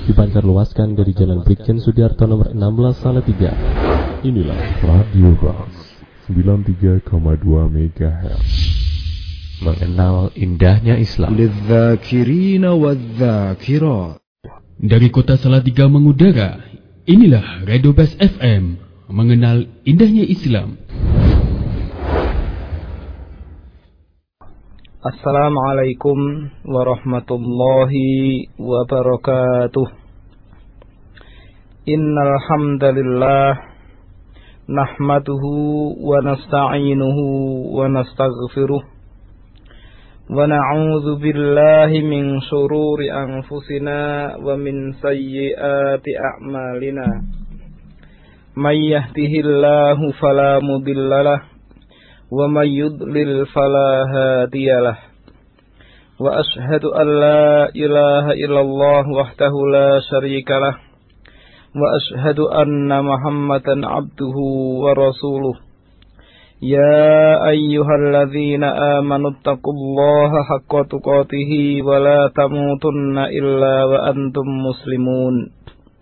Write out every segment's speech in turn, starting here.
dipancarluaskan dari Jalan Brigjen Sudiarto nomor 16 Salatiga. Inilah Radio Ras 93,2 MHz. Mengenal indahnya Islam. Lidzakirina wadzakirat. Dari kota Salatiga mengudara, inilah Radio Bas FM, mengenal indahnya Islam. Assalamualaikum warahmatullahi wabarakatuh. Innal hamdalillah nahmaduhu wa nasta'inuhu wa nastaghfiruh wa na'udzu billahi min shururi anfusina wa min sayyiati a'malina. May yahdihillahu fala mudhillalah wa may yudlil fala hadiyalah. Wa ashhadu an la ilaha illallah wahdahu la syarikalah wa ashhadu anna Muhammadan abduhu wa rasuluh. Ya ayyuhalladzina amanu taqullaha haqqa tuqatih wa la tamutunna illa wa antum muslimun.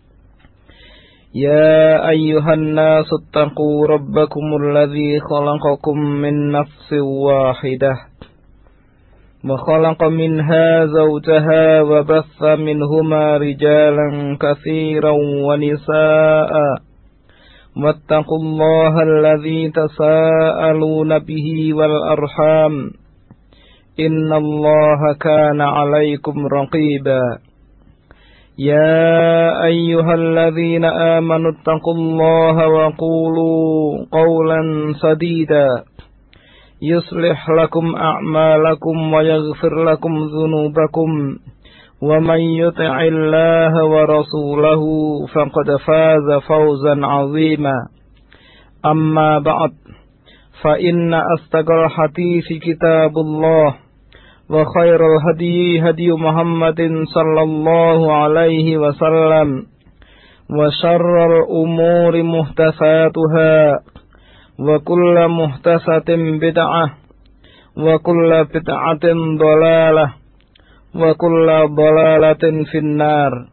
Ya ayyuhan nasu taqu rabbakumul ladzi khalaqakum min nafsin wahidah wa khalaqa minha zawjaha wa batha minhuma rijalan katsiran wa nisaa'a wattaqullaha alladzi tasaaluna bihi wal arham innallaha kana 'alaikum raqiba. Ya ayyuhalladzina amanu taqullaha wa qulu qawlan sadida yuslih lakum a'malakum wa yaghfir lakum dhunubakum wa man yuti'illaha wa rasulahu faqad faza fawzan 'azima. Amma ba'd, fa inna astaqal hadithi kitabullah wa khairul hadi hadi Muhammadin sallallahu alaihi wasallam wa syarrul umuri muhdatsatuha wa kullu muhdatsatin bid'ah wa kullu bid'atin dhalalah wa kullu dhalalatin finnar.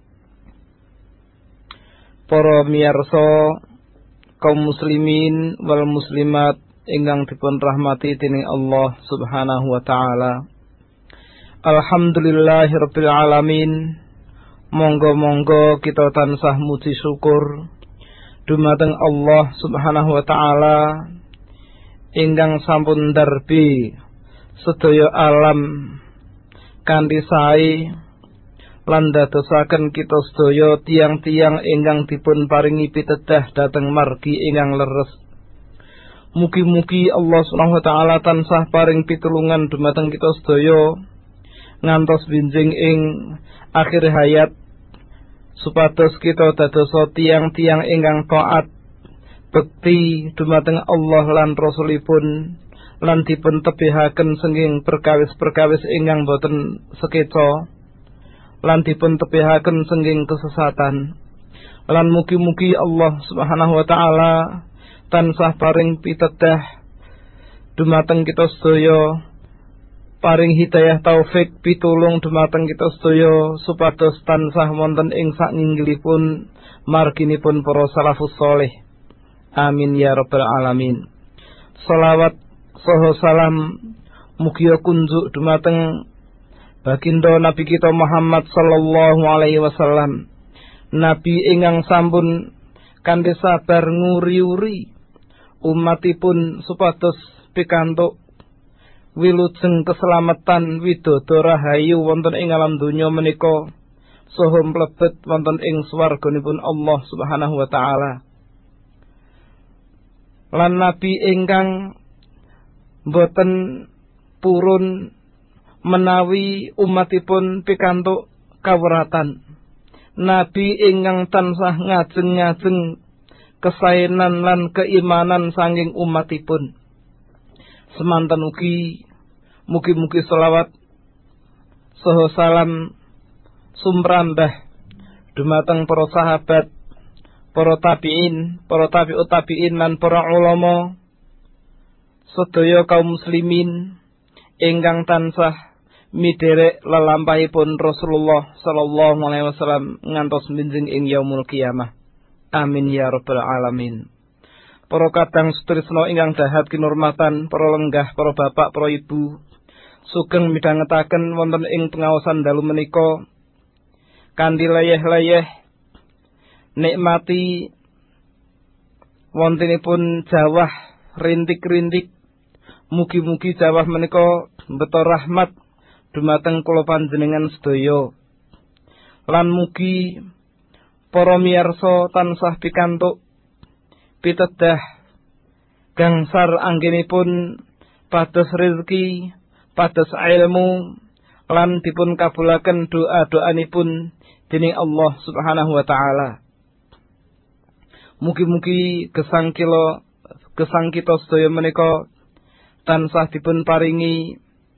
Para miyarsa kaum muslimin wal muslimat ingkang dipun rahmati dening Allah Subhanahu wa taala. Alhamdulillahirabbil alamin. Monggo-monggo kita tansah muji syukur dumateng Allah Subhanahu wa taala ingkang sampun ndarbi sedaya alam kanthi sae lan dadosaken kita sedaya tiang-tiang ingkang dipun paringi pitedah dhateng margi ingkang leres. Mugi-mugi Allah Subhanahu wa taala tansah paring pitulungan dumateng kita sedaya ngantos binjing ing akhir hayat supados kita dadosa tiang-tiang ingkang taat bekti dumateng Allah lan Rasulipun lan dipun tebihaken saking perkawis-perkawis ingkang boten sekeca lan dipun tebihaken saking kesesatan. Lan mugi-mugi Allah Subhanahu wa taala tansah paring pitedah dumateng kita sedaya, paring hidayah taufik pitulung dumateng kita sedaya supados tansah wonten ing sainggilipun marginipun para salafus saleh. Amin ya rabbal alamin. Shalawat saha salam mugia kunjuk dumateng baginda Nabi kita Muhammad sallallahu alaihi wasallam, nabi ingkang sampun kanthi sabar nguri-uri umatipun supados pikantuk wilujeng keselamatan widodara rahayu wonten ing alam donya menika saha mlebet wonten ing swarganipun Allah Subhanahu wa taala. Lan nabi ingkang boten purun menawi umatipun pikantuk kawratan, nabi ingkang tansah ngajeng-ngajeng kesaenan lan keimanan saking umatipun. Semanten ugi mugi-mugi selawat saha salam sumrambah dumateng para sahabat, para tabi'in, para tabi'ut tabi'in lan para ulama sedaya kaum muslimin ingkang tansah miderek lelampahipun Rasulullah sallallahu alaihi wasallam ngantos minjing ing yaumul qiyamah. Amin ya rabbal alamin. Para kadang sutrisna ingkang dahat kinurmatan, para lenggah, para bapak, para ibu, sugeng midhangetaken wonten ing pengaosan dalu menika kanthi leyeh-leyeh nikmati wontenipun jawah rintik-rintik. Mugi-mugi jawah menika mbeta rahmat dumateng kula panjenengan sedaya. Lan mugi para miyarsa tansah pikantuk pitedah gangsar anggenipun pados rezeki, pados ilmu, lan dipun kabulaken doa-doanipun dening Allah Subhanahu wa taala. Mugi-mugi gesang kita sedaya menika tansah dipun paringi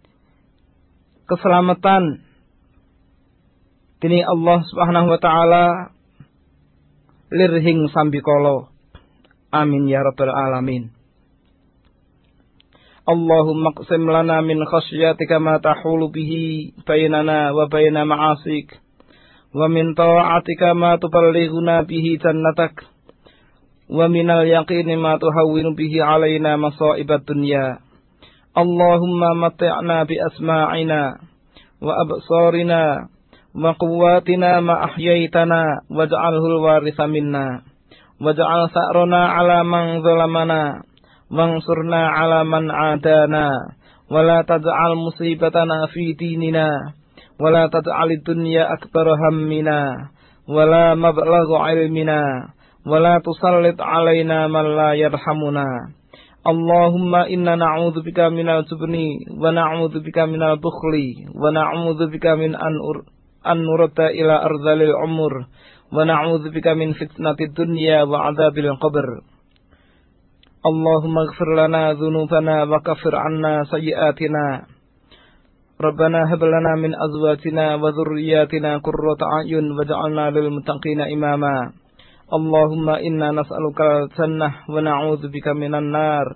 keselamatan dening Allah Subhanahu wa taala lirhing sambikala. Amin ya rabbal alamin. Allahumma qsim lana min khasyatika ma tahulu bihi bainana wa baina ma'asik wa min ta'atika ma tuballighuna bihi jannatak wa minal yaqini ma tuhawwinu bihi alaina masa'ibad dunya. Allahumma matti'na bi asma'ina wa absarina wa quwwatina ma ahyaitana waj'alhu al-waritha minna waj'al sa'rana 'ala man zalamana wansurna 'ala man 'adana wa la taj'al musibatana fi dinina wa la taj'al ad-dunya akbar hammina wa la mablagha 'ilmina wa la tusallit 'alaina man la yarhamuna. Allahumma inna na'udzu bika minal jubni wa na'udzu bika minal bukhli wa na'udzu bika min an nurata ila ardhilil umur wa na'udzu bika min fitnatid dunya wa 'adzabil qabr. Allahumma ighfir lana dhunubana wa kaffir 'anna sayyi'atina. Rabbana hab lana min azwajina wa dhurriyyatina qurrata a'yun waj'alna lil muttaqina imama. Allahumma inna nas'aluka al-jannah wa na'udzu bika minan nar.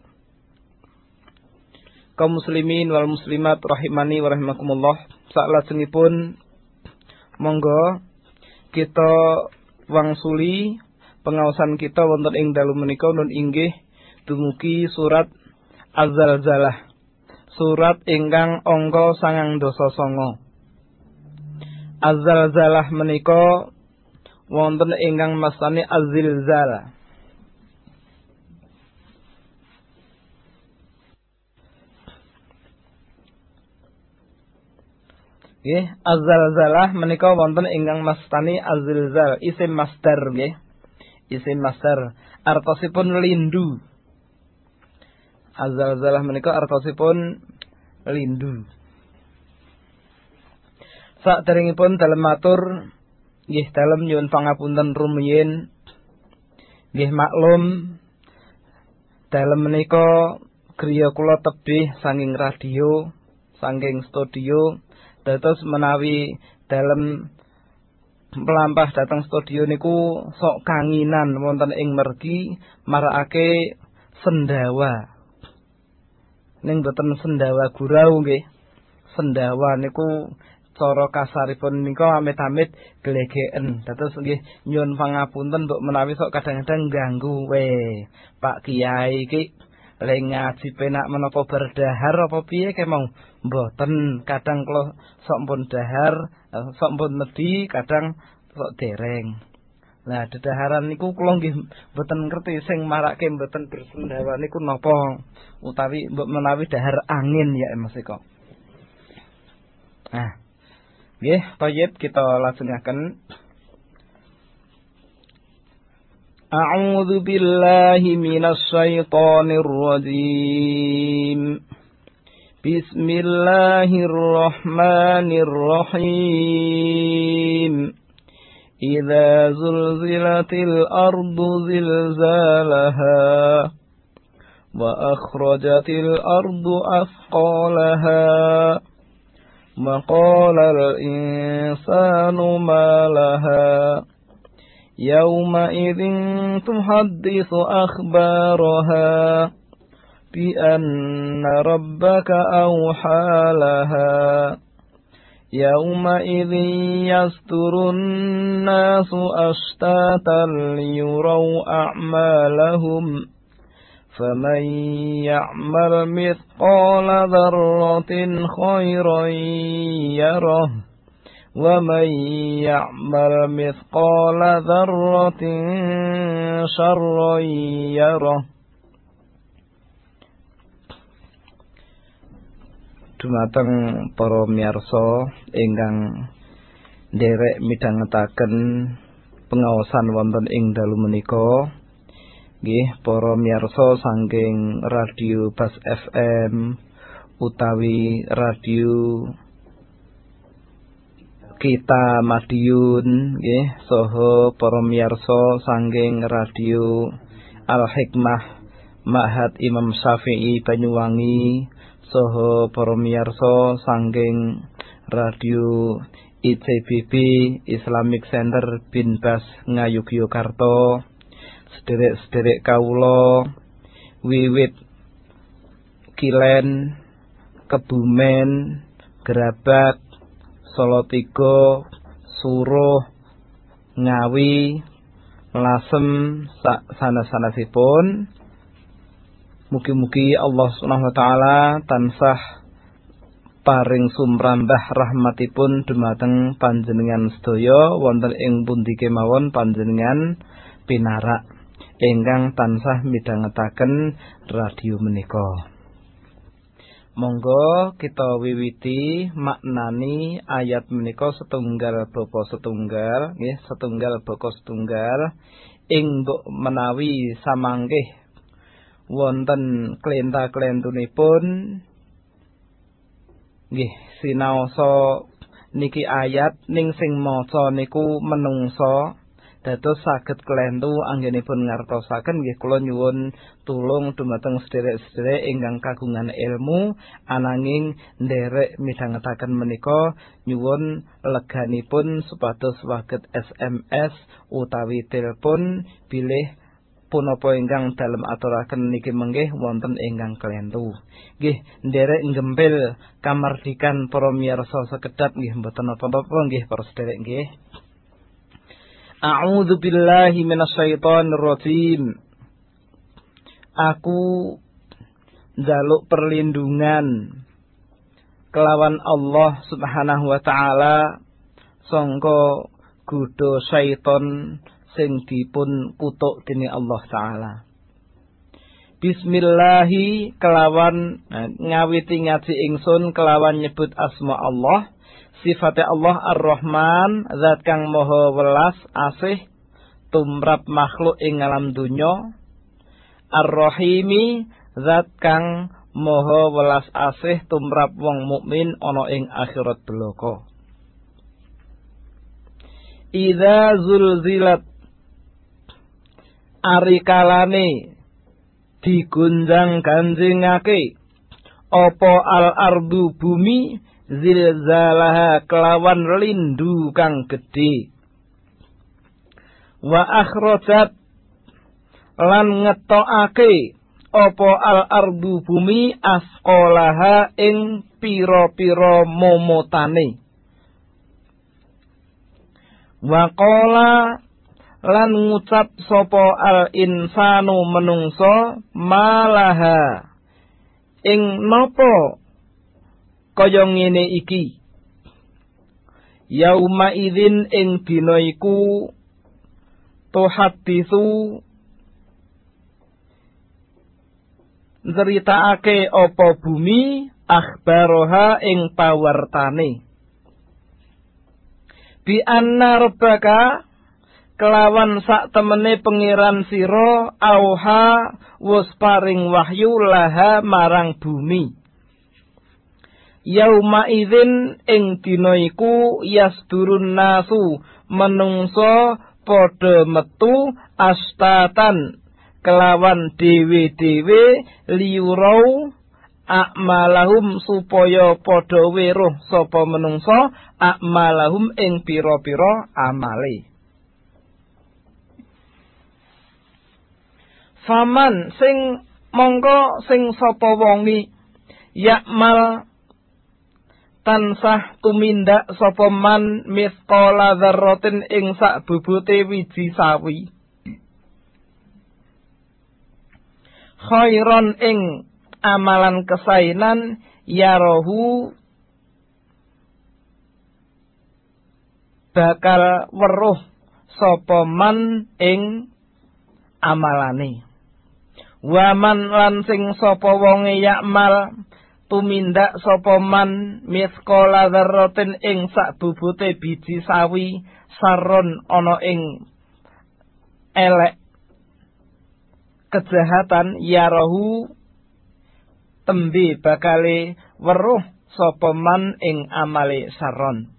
Kaum muslimin wal muslimat rahimani wa rahimakumullah. Salajengipun monggo kita wangsuli pengaosan kita wonten ing dalu menika nun inggih dumugi surat Az-Zalzalah. Surat ingkang angka 99. Az-Zalzalah menika wonten ingkang mastani Az-Zilzal. Nggih, Az-Zalzalah menika wonten ingkang mastani Az-Zilzal, isim masdar nggih. Isim masdar artosipun lindu. Az-Zalzalah menika artosipun lindu. Saderengipun dalem matur nggih dalem nyuwun pangapunten rumiyin. Nggih maklum dalem menika griya kula tebih saking radio, saking studio, dados menawi dalem melampah dateng studio niku sok kanginan wonten ing mergi marakake sendawa. Ning boten sendawa gurau nggih. Sendawa niku cara kasaripun nika amit-amit glegeken. Dados nggih nyuwun pangapunten mbok menawi sok kadang-kadang ganggu Pak Kiai iki le ngaji penak menapa berdahar apa piye kemau mboten, kadang kula sok pun dahar, sok pun medhi, kadang sok dereng. Nah, dedaharan niku kula nggih mboten ngerti sing marake mboten bersendawa niku napa, utawi mbok menawi dahar angin ya Mas Eko. Nah, nggih, thayyib kita lajengaken. A'udzu billahi minasy syaithanir rajim. Bismillahirrahmanirrahim. Idza zulzilatil ardu zilzalaha wa akhrajatil ardu athqalaha wa qala al-insanu ma laha yawma idzin tuhadditsu akhbaraha bi anna rabbaka awha laha Yauma'idzin yasturun nasu ashtatan liyuraw a'malahum faman ya'mal mithqala dzarratin khairan yarah wa man ya'mal mithqala dzarratin syarran yarah. Dumateng para miyarsa ingkang nderek midhangetaken pengaosan wonten ing dalu menika, nggih para miyarsa saking Radio Bas FM utawi radio Kita Madiun, nggih saha para miyarsa saking radio Al Hikmah Ma'had Imam Syafi'i Banyuwangi, saha para miyarsa saking radio ICBB Islamic Center Bin Bas Ngayogyakarta, sederek-sederek kawula wiwit Kilen, Kebumen, Gerabak, Salatiga, Suruh, Ngawi, Lasem sak sanes-sanesipun. Mugi-mugi Allah Subhanahu wa taala tansah paring sumrambah rahmatipun dumateng panjenengan sedaya wonten ing pundi kemawon panjenengan pinarak ingkang tansah midhangetaken radio menika. Monggo kita wiwiti maknani ayat menika setunggal bapa setunggal, nggih setunggal bapa setunggal ing menawi samanggih wonten klenta-klentunipun nggih sinaosa niki ayat ning sing maca niku menungsa dados saged klentu anggenipun ngartosaken nggih kula nyuwun tulung dumateng sederek-sederek ingkang kagungan ilmu ananging nderek midhangetaken menika nyuwun leganipun supados saged SMS utawi telepon bilih punapa ingkang dalem aturaken niki menggih wonten ingkang klentu. Nggih nderek gempil kamardikan para miyarsa sekedhap nggih mboten napa-napa nggih para sederek nggih. A'udzu billahi minasyaitonir rajim. Aku njaluk perlindungan kelawan Allah Subhanahu wa taala sangka godha syaiton sing dipun kutuk dening Allah taala. Bismillahi kelawan ngawiti ngaji ingsun kelawan nyebut asma Allah, sifate Allah Ar-Rahman, zat kang maha welas asih tumrap makhluk ing alam dunya. Ar-Rahimi, zat kang maha welas asih tumrap wong mukmin ana ing akhirat belaka. Idza zulzilat, ari kalane digunjang ganjingake apa al-ardu bumi zilzalaha kelawan lindu kang gedhe, wa akhrajat lan ngetokake apa al-ardu bumi asqalaha ing pira-pira momotane, wa qala lan ngucap sapa al-insanu menungso malaha ing napa kaya ngene iki, yauma idzin ing dina iku tuhaddisu nceritaake apa bumi akhbaroha ing pawartane, bi anna rabbaka kelawan sak temene pengiran sira auha wus paring wahyu laha marang bumi. Yauma idzin ing dina iku yasdurun nasu menungso padha metu astatan kelawan dhewe-dhewe liurau akmalahum supaya padha weruh sapa menungso akmalahum ing pira-pira amale. Faman sing mongko sing sapa wongi yakmal tansah tumindak sapa man mithqala dzarratin ing sak bobote wiji sawi khairon ing amalan kesainan yarahu bakal weruh sapa man ing amalane waman lan sing sapa wonge yakmal tumindak sapa man mithqala dzarratin ing sak bobote biji sawi saron ana ing elek kejahatan yarahu tembe bakale weruh sapa man ing amale saron.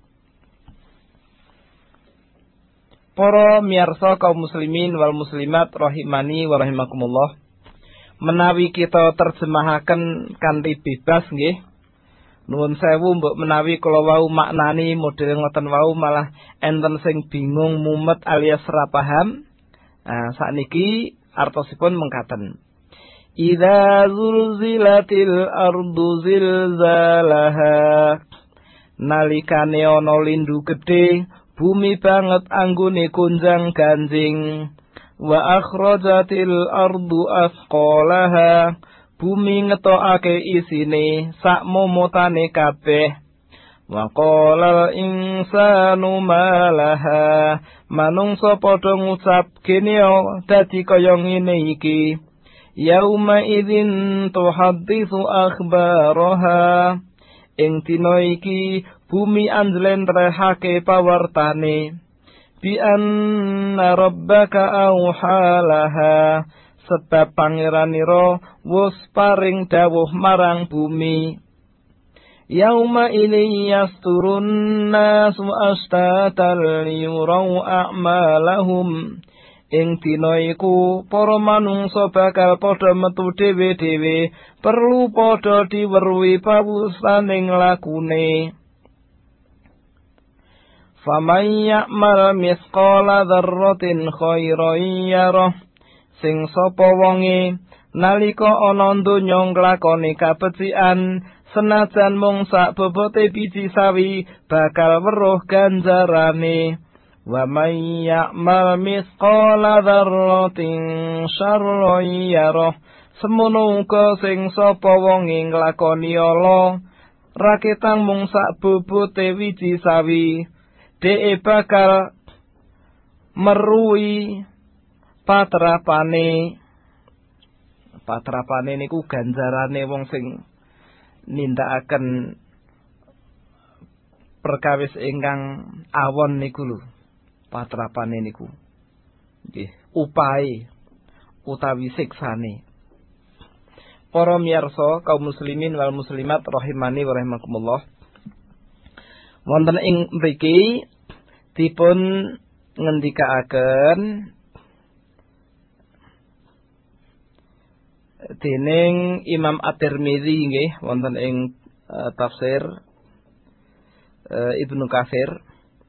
Para miyarsa kaum muslimin wal muslimat rahimani wa rahimakumullah. Menawi kita terjemahaken kanthi bebas nggih. Nuwun sewu mbok menawi kula wau maknani model ngoten wau malah enten sing bingung mumet alias ora paham. Sakniki artosipun mengkaten. Idza zulzilatil ardu zilzalaha. Nalikane ana lindu gedhe, bumi banget anggone gonjang ganjing. Wa akhrajatil ardu asqalaha, bumi ngetokake isine sak momotane kabeh. Wa qalal insanu malaha, manungsa padha ngucap kene dadi kaya ngene iki. Yauma idzin tuhadditsu akhbaraha, ing dina iki bumi anjlentrehake pawartane. Bi anna rabbaka auhalaha, sebab pangeranira wis paring dawuh marang bumi. Yauma idzi yasturun nasu astatan liyurau a'malahum, ing dina iku para manungsa bakal padha metu dhewe-dhewe perlu padha diweruhi pawusaning lakune. Faman ya'mal mithqala dzarratin khairan yarah, sing sapa wonge nalika ana donya nglakoni kabecikan senajan mung sak bobote biji sawi bakal weruh ganjarane. Wa man ya'mal mithqala dzarratin syarran yarah, semono uga sing sapa wonge nglakoni ala raketang mung sak bobote wiji sawi dhek bakal meruhi patrapane niku ganjarane wong sing nindakaken perkawis ingkang awon niku lho, patrapane niku nggih upahe utawi siksane. Para miyarsa kaum muslimin wal muslimat rahimani wa rahimakumullah, wonten ing mriki dipun ngendikaaken dening Imam At-Tirmidzi nggih wonten ing tafsir Ibnu Katsir.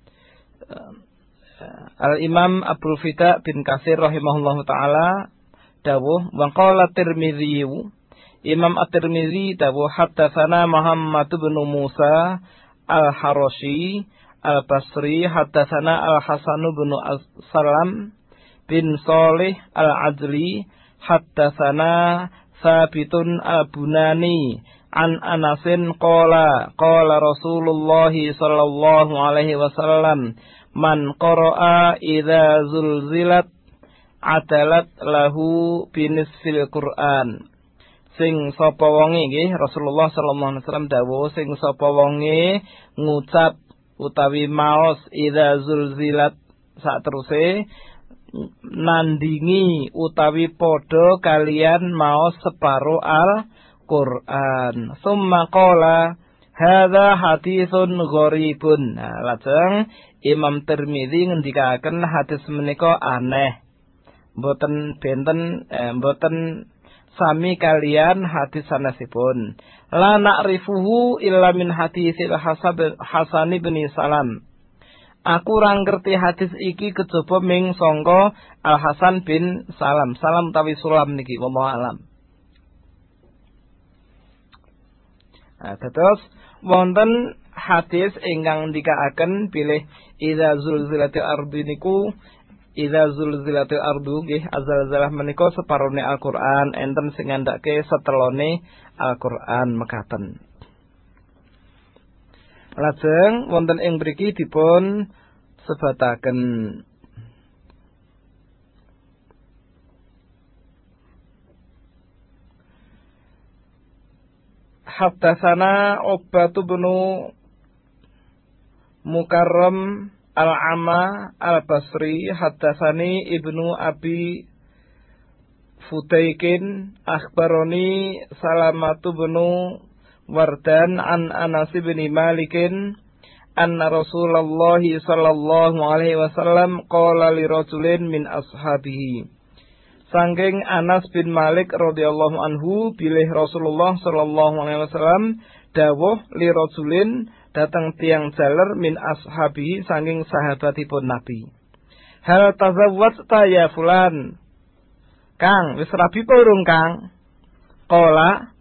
Al-Imam Abdul Fida bin Katsir rahimahullahu taala dawuh wa qala Tirmidzi, Imam At-Tirmidzi dawuh haddatsana Muhammad bin Musa Al-Harashi Al-Basri haddatsana Al-Hasan bin Salam bin Salih Al-Ajli haddatsana Sabitun Al-Bunani an Anasin qala Rasulullah sallallahu alaihi wasallam man qara'a idza zulzilat adalat lahu binisfil Qur'an. Sing sapa wonge nggih Rasulullah sallallahu alaihi wasallam dawuh sing sapa wonge ngucap utawi maos idza zulzilat sak teruse nandingi utawi padha kalian maos separo Al-Qur'an. Summa qala hadza haditsun gharibun. Lajeng Imam Tirmidzi ngendikaken hadis menika aneh. Mboten sami kalian hadis sanesipun. La na'rifuhu illa min hadisil Hasan bin Salam. Aku ora ngerti hadis iki kejaba ming sangka Al Hasan bin Salam. Salam tawi sulam niki wallahu alam. Terus wonten hadis ingkang ndikaaken bilih idza zulzilatil ardu niku idza zulzilatil ardu nggih azalzalah menika separone Al-Qur'an enten sing ngandhake setelone Al-Qur'an mekaten. Lajeng wonten ing mriki dipun sebataken Haddatsana Ubbatu bin Mukarram Al-Amma Al-Basri haddatsani Ibnu Abi Futaikin akhbaroni Salamatu bin Wardan an Anas bin Malikin anna Rasulullah sallallahu alaihi wasallam qala li rajulin min ashabihi. Sangking Anas bin Malik radhiyallahu anhu bilih Rasulullah sallallahu alaihi wasallam dawuh li rajulin datang tiang jaler min ashabihi sangking sahabatipun Nabi. Hal tazawwajta ya fulan? Kang, wis rabi apa urung Kang? Qala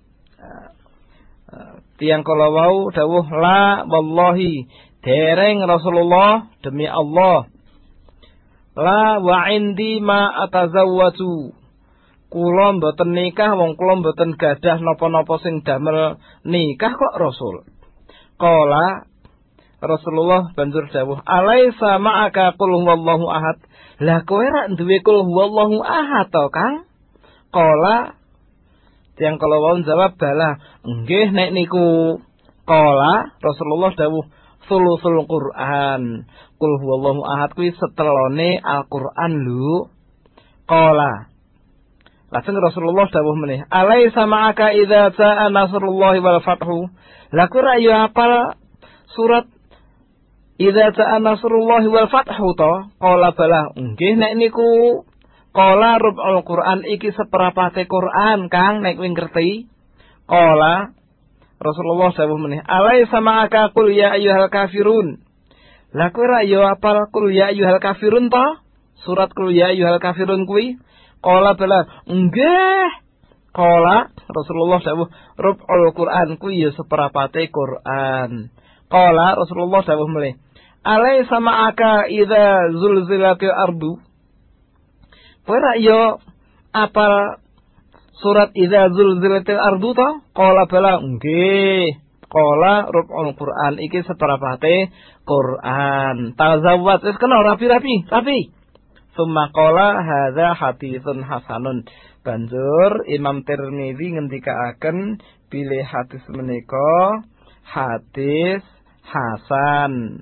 tiang kala wau dawuh la wallahi dereng Rasulullah demi Allah. La wa indi ma atazawwaju. Kula mboten nikah wong kula mboten gadah napa-napa sing damel nikah kok Rasul. Qala Rasulullah banjur dawuh, "Alaisa ma'aka qul huwallahu ahad." Lah kowe ra duwe qul huwallahu ahad to, Kang? Qala tiyang kala wau jawab, "Bala, nggih nek niku." Qala Rasulullah dawuh, "Sulusul Qur'an." Qul huwallahu ahad kuwi setelone Al-Qur'an lho. Qala lajeng Rasulullah dawuh meneh, "Alaisa ma'aka idza ja'a nasrullahi wal fathu." Lah kok ra yo apal surat idza ja'a nasrullahi wal fathu to? Qala bala, nggih nek niku. Qala rub'ul Qur'an iki seperapate Qur'an, Kang, nek kowe ngerti. Qala Rasulullah dawuh meneh, "Alaisa ma'aka qul ya ayyuhal kafirun." Lah kowe ra yo apal qul ya ayyuhal kafirun to? Surat qul ya ayyuhal kafirun kuwi. Qala bala, nggih. Qala Rasulullah dawuh, rub'ul Qur'an kuwi ya seperapate Qur'an. Qala Rasulullah dawuh meneh, "Alaisa ma'aka idza zulzilatil ardu." Kowe ra yo apal surat idza zulzilatil ardu to? Qala bala, nggih. Qala rub'ul Qur'an iki seperapate Qur'an. Tazawwad wis kena rapi-rapi. Summa qala hadza haditsun hasanun. Banjur Imam Tirmizi ngendikaaken bilih hadis menika hadis hasan.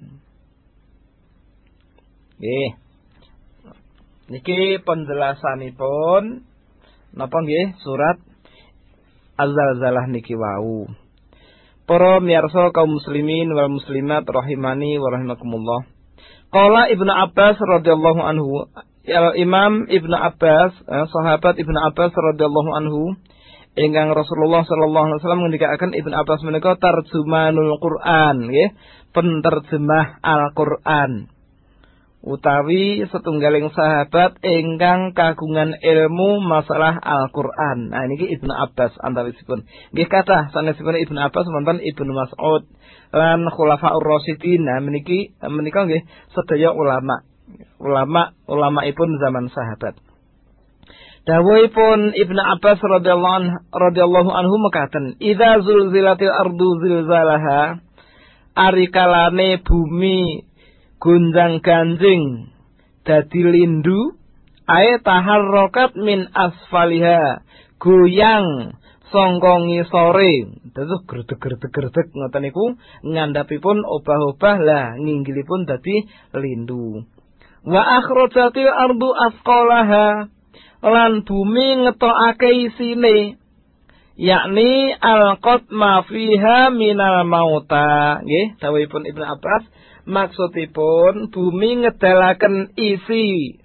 Nggih. Niki penjelasanipun napa nggih surat Az-Zalzalah niki wau. Para miyarsa kaum muslimin wal muslimat rahimani wa rahimakumullah. Qala Ibnu Abbas radhiyallahu anhu, Imam Ibnu Abbas, sahabat Ibnu Abbas radhiyallahu anhu, ingkang Rasulullah sallallahu alaihi wasallam ngendikaken Ibnu Abbas menika tarjumanul Qur'an, nggih, penterjemah Al-Qur'an. Utawi setunggaling sahabat ingkang kagungan ilmu masalah Al-Qur'an. Nah niki Ibnu Abbas antawisipun. Nggih kathah sanesipun Ibnu Abbas wonten Ibnu Mas'ud lan Khulafaur Rasyidin. Nah menika nggih sedaya ulama-ipun zaman sahabat. Dawuhipun Ibnu Abbas radhiyallahu anhu mekaten, "Idza zulzilatil ardu zilzalaha." Arikalane bumi gonjang-ganjing dadi lindu, ae taharrokat min asfaliha, goyang sangka ngisore, terus gredeg-gredeg ngoten niku ngandhapipun obah-obah lah nginggilipun dadi lindu. Wa akhrajatil ardu asqalaha, lan bumi ngetokake isine, yakni alqat ma fiha minal mauta. Nggih dawuhipun Ibnu Abbas, maksudipun bumi ngedalaken isi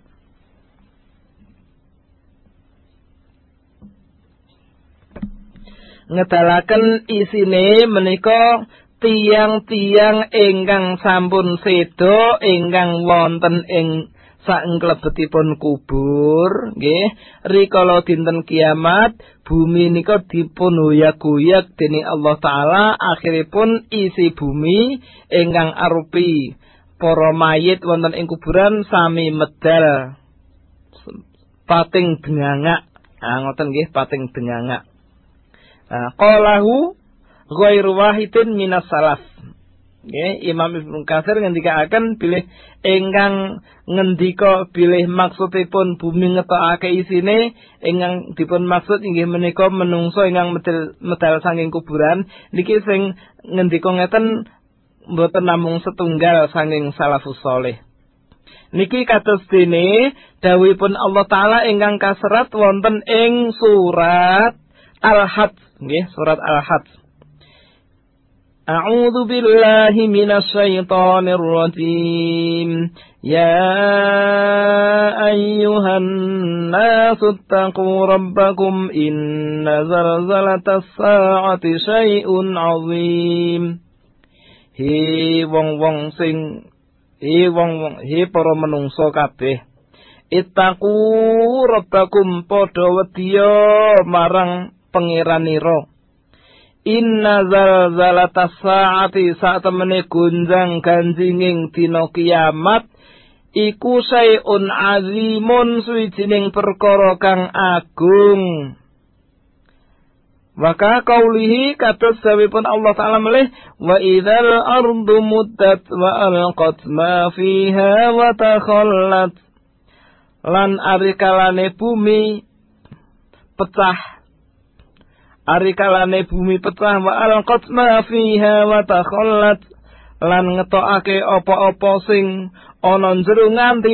isine menika tiang-tiang ingkang sampun sedo ingkang wonten ing saking klebetipun kubur nggih rikala dinten kiamat bumi nika dipun hoyak-hoyak dening Allah taala akhiripun isi bumi ingkang arupi para mayit wonten ing kuburan sami medal pating dengangak. Ngoten nggih pating dengangak. Qalahu ghairu wahidin minas salaf. Nggih, Imam Ibnu Katsir ngendikaaken bilih ingkang ngendika bilih maksudipun bumi ngetokake isine ingkang dipun maksud inggih menika menungso ingkang medal saking kuburan niki sing ngendika ngeten mboten namung setunggal saking salafus saleh. Niki kados dene dawuhipun Allah taala ingkang kaserat wonten ing surat Al-Hajj nggih surat Al-Hajj. A'udzu billahi minasy syaithanir rajim. Ya ayyuhan nasu taqu rabbakum inna zalzalatas saa'ati syai'un 'azim. He wong-wong sing para menungso kabeh ittaqu rabbakum padha wedya marang pangeranira inna zalzalatas saati satemene gunjang ganjinging dina kiamat iku sayun azimun suwijining perkara kang agung. Maka kaulihi kados dawuhipun Allah taala melih wa idzal ardu muddat wa alqat ma fiha wa takhallat lan arikalane bumi pecah wa alqat ma fiha wa takhallat lan ngetokake apa-apa sing ana njero nganti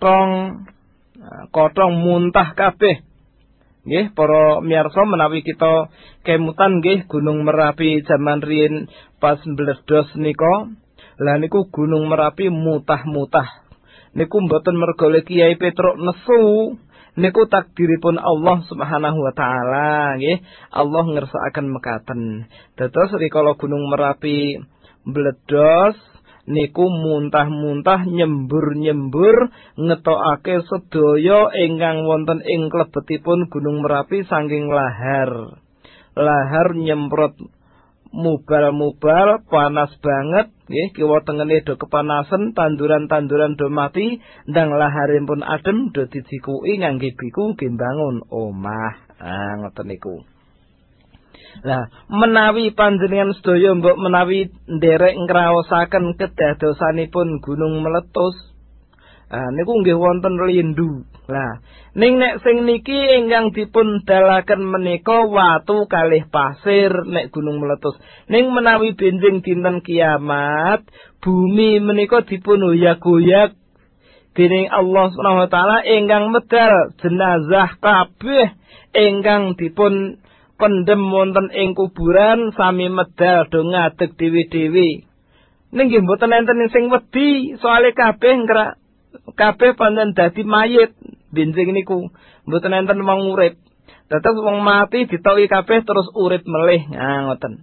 kotong muntah kabeh. Nggih para miyarsa menawi kita kemutan nggih Gunung Merapi jaman riyin pas mbledos nika. Lah niku Gunung Merapi mutah-mutah. Niku mboten merga Kyai Petruk nesu. Niku takdiripun Allah Subhanahu wa taala nggih. Allah ngersakaken mekaten. Dados rikala Gunung Merapi mbledos niku muntah-muntah nyembur-nyembur ngetokake sedaya ingkang wonten ing klebetipun Gunung Merapi saking lahar nyemprot mubal panas banget nggih kiwa tengene do kepanasan tanduran-tanduran do mati ndang laharipun adem do dijikuki ngangge biku gembangun omah ngoten niku. Lah menawi panjenengan sedaya mbok menawi nderek ngraosaken kedadosanipun gunung meletus niku nggih wonten lindu. Lah ning nek sing niki ingkang dipun dalaken menika watu kalih pasir nek gunung meletus. Ning menawi benjing dinten kiamat bumi menika dipun hoyak-hoyak dening Allah Subhanahu wa taala ingkang medal jenazah kabeh ingkang dipun pendem wonten ing kuburan sami medal do ngadeg dewi-dewi. Ning nggih mboten enten sing wedi soalé kabeh pancen dadi mayit benjing niku. Mboten enten wong urip. Dados wong mati ditoki kabeh terus urip melih. Ngoten.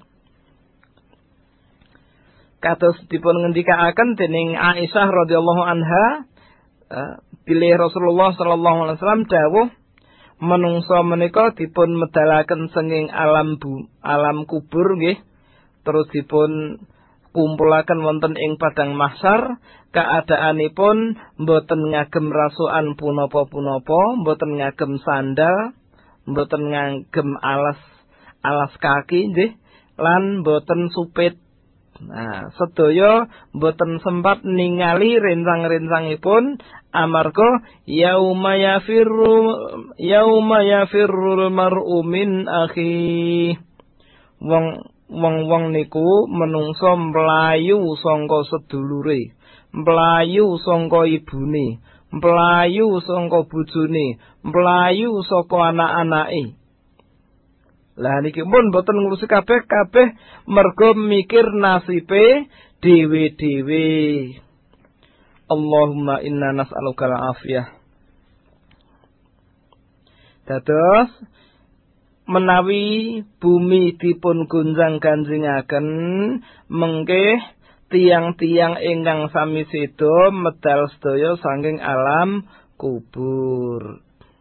Kados dipun ngendikaaken dening Aisyah radhiyallahu anha bilih Rasulullah sallallahu alaihi wasallam dawuh menungso menika dipun medalaken senging alam kubur nggih terus dipun kumpulaken wonten ing padang mahsyar keadaanipun mboten ngagem rasukan punapa-punapa mboten ngagem sandal mboten ngagem alas kaki nggih lan mboten supit. Sedaya mboten sempat ningali rencang-rencangipun amarga yauma yafirrul mar'u min akhi. Wong niku menungso mlayu sangka sedulure, mlayu sangka ibune, mlayu sangka bojone, mlayu saka anak-anake. Lah niki pun mboten ngurusi kabeh mergo mikir nasibe dhewe-dhewe. Allahumma inna nas'aluka al-afiyah. Dados menawi bumi dipun gunjang-ganjingaken mengke tiang-tiang ingkang sami sedo medal sedaya saking alam kubur.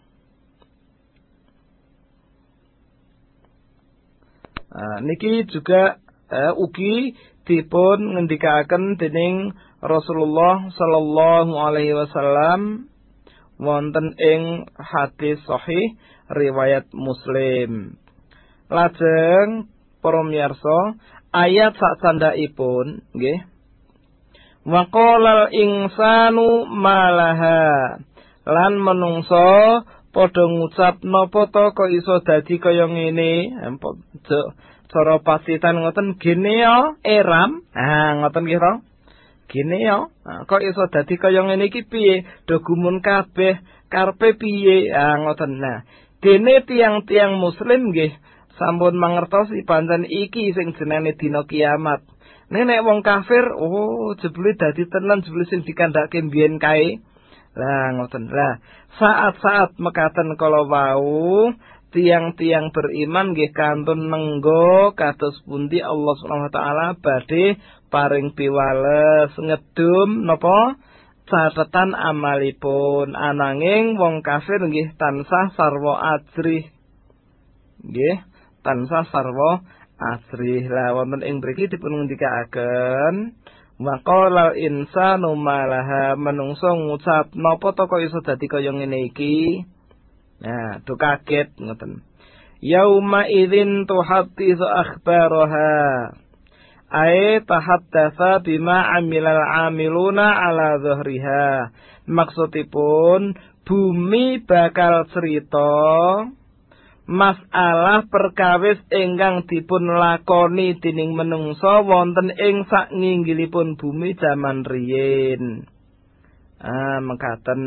Niki juga ugi dipun ngendikaken dening Rasulullah sallallahu alaihi wasallam wonten ing hadis sahih riwayat Muslim. Lajeng para miyarsa ayat sak sandhaipun nggih. Wa qalal insanu malaha lan menungso padha ngucap napa to kok iso dadi kaya ngene. Cara pasitan ngoten gene ya eram. Ngoten nggih to. Gene ya. Kok iso dadi kaya ngene iki piye? Do gumun kabeh karepe piye? Ngoten. Nah, dene tiang-tiang muslim nggih sampun mangertosi pancen iki sing jenenge dina kiamat. Nek wong kafir, jebule dadi tenan jebule sing dikandhake mbiyen kae. Lah ngoten. Lah, saat-saat mekaten kala wau tiang-tiang beriman nggih kantun nenggo kados pundi Allah Subhanahu wa taala badhe paring piwales ngedum napa catetan amalipun. Ananging wong kafir nggih tansah sarwa ajrih. Nggih, tansah sarwa ajrih. Lah wonten ing mriki dipun ngendikaken wa qala insanu malaha menungso ngucap napa to kok iso dadi kaya ngene iki. Nah, do kaget ngoten. Yauma idzin tuhadditsu akhbaraha. Ay tahaddatsa bima amilal amiluna ala dhahriha. Maksudipun bumi bakal cerita masalah perkawis ingkang dipun lakoni dening menungsa wonten ing saknginggilipun bumi jaman riyin. Mekaten.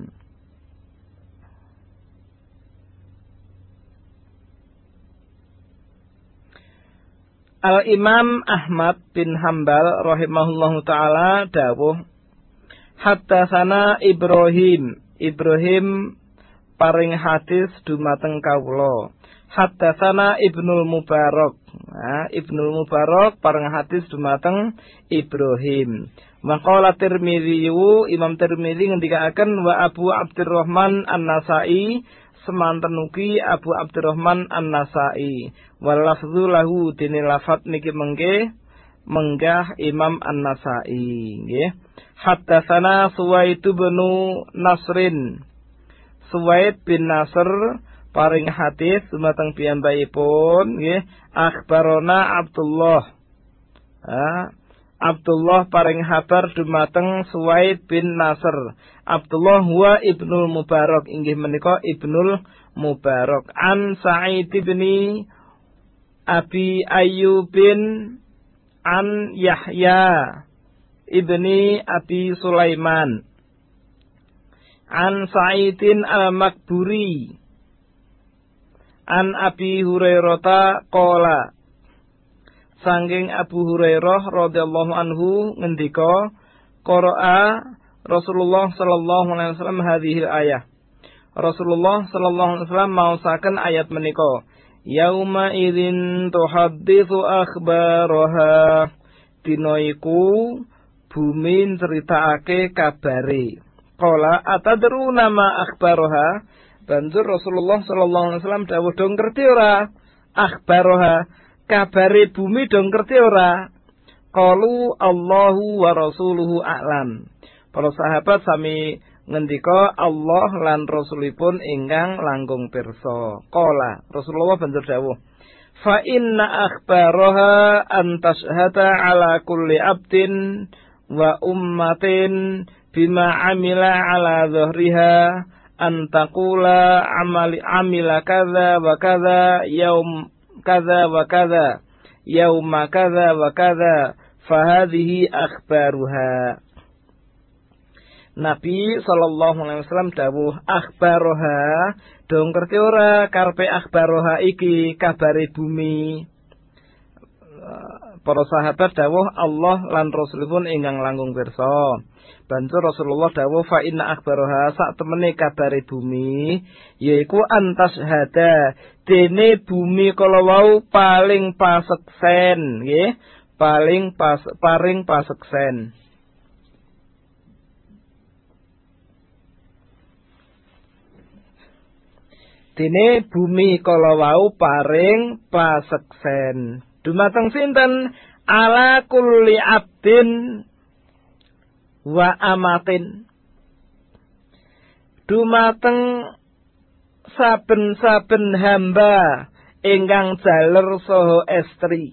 Al-Imam Ahmad bin Hanbal rahimahullahu taala dawuh haddatsana Ibrahim paring hadis dumateng kawula. Haddatsana Ibnul Mubarak. Ibnul Mubarak paring hadis dumateng Ibrahim. Maqala Tirmidzi, Imam Tirmidzi ngendikaken wa Abu Abdurrahman An-Nasa'i semanten ugi Abu Abdurrahman An-Nasa'i. Wal lafdzu lahu dene lafat niki mengke menggah Imam An-Nasa'i nggih. Haddatsana Suwaid bin Nasrin. Suwaid bin Nasr paring hadis dumateng piyambakipun nggih akhbarona Abdullah. Abdullah paring habar dumateng Suwaid bin Nasr. Abdullah huwa Ibnul Mubarak, inggih menika Ibnul Mubarak. An Sa'id bin Abi Ayyubin an Yahya ibni Abi Sulaiman an Sa'idin al-Makburi an Abi Hurairah qala. Sangking Abu Hurairah radhiyallahu anhu ngendika qara'a Rasulullah sallallahu alaihi wasallam hadhil ayah. Rasulullah sallallahu alaihi wasallam maosaken ayat menika. Yauma idzin tuhadditsu akhbaraha. Dina iku bumi critakake kabare. Qala atadruna ma akhbaraha. Banjur Rasulullah sallallahu alaihi wasallam dawuh dong ngerti ora akhbaraha. Kabare bumi dong ngerti ora? Qalu Allahu wa rasuluhu a'lam. Para sahabat sami ngendika Allah lan rasulipun ingkang langkung pirsa. Qala Rasulullah banjur dawuh, fa inna akhbaraha an tashhada ala kulli abdin wa ummatin bima amila ala dhahriha an taqula amila kadza wa kadza yaum kadza wa kadza yauma kadza wa kadza fahadhihi akhbaruha. Nabi sallallahu alaihi wasallam dawuh akhbaroha dong ngerti ora karepe akhbaroha iki kabare bumi. Para sahabat dawuh Allah lan rasulipun ingkang langkung pirsa. Banjur Rasulullah dawuh fa inna akhbaroha sak temene kabare bumi yaiku antas hada dene bumi kala wau paling paseksen nggih paring paseksen. Dene bumi kala wau paring paseksen. Dumateng sinten? Ala kulli abdin wa amatin. Dumateng saben-saben hamba ingkang jaler saha estri.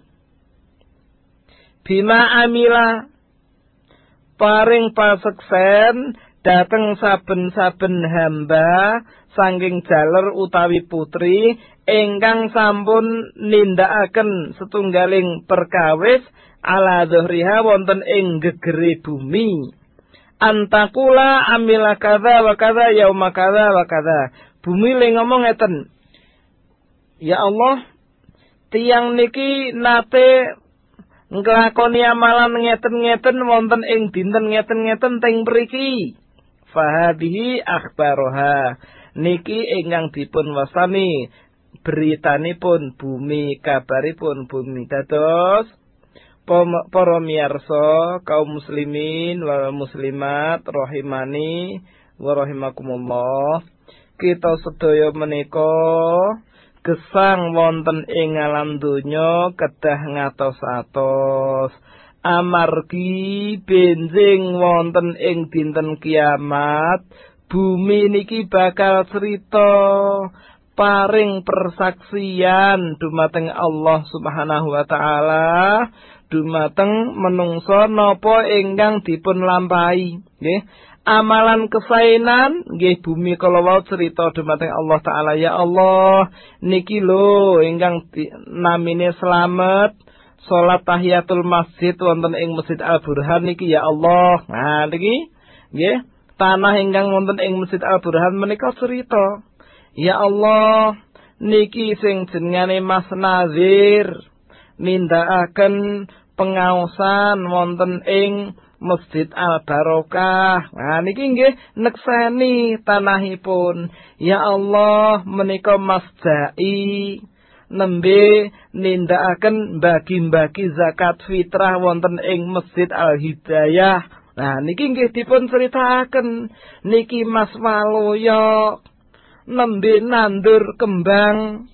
Bima amila paring paseksen dateng saben-saben hamba saking jaler utawi putri ingkang sampun nindakaken setunggaling perkawis ala dhuhriha wonten ing gegere bumi. Antakula amila kadza wa kadza yauma kadza wa kadza. Bumi le ngomong ngeten. Ya Allah, tiyang niki nate nglakoni amalan ngeten-ngeten wonten ing dinten ngeten-ngeten teng mriki. Fahadihi akhbaroha. Niki ingkang dipun wastani beritanipun bumi, kabaripun bumi. Dados para miyarsa kaum muslimin wal muslimat rahimani wa rahimakumullah, kita sedaya menika gesang wonten ing alam donya kedah ngatos-atos amargi benjing wonten ing dinten kiamat. Bumi niki bakal cerita paring persaksian dumateng Allah Subhanahu wa taala dumateng menungso napa ingkang dipun lampahi nggih. Amalan kesainan nggih bumi kala wau cerita dumateng Allah taala, ya Allah niki lho ingkang namine slamet salat tahiyatul masjid wonten ing Masjid Al Burhan niki ya Allah. Nah niki nggih tanah ingkang wonten ing Masjid Al Burhan menika cerita, ya Allah niki sing jenengane Mas Nazir nindakaken pengaosan wonten ing Masjid Al Barokah. Nah niki nggih nekseni tanahipun, ya Allah menika Mas Jai nembe nindakaken bagi-bagi zakat fitrah wonten ing Masjid Al Hidayah. Nah niki nggih dipun critakaken niki Mas Waloyo nembe nandur kembang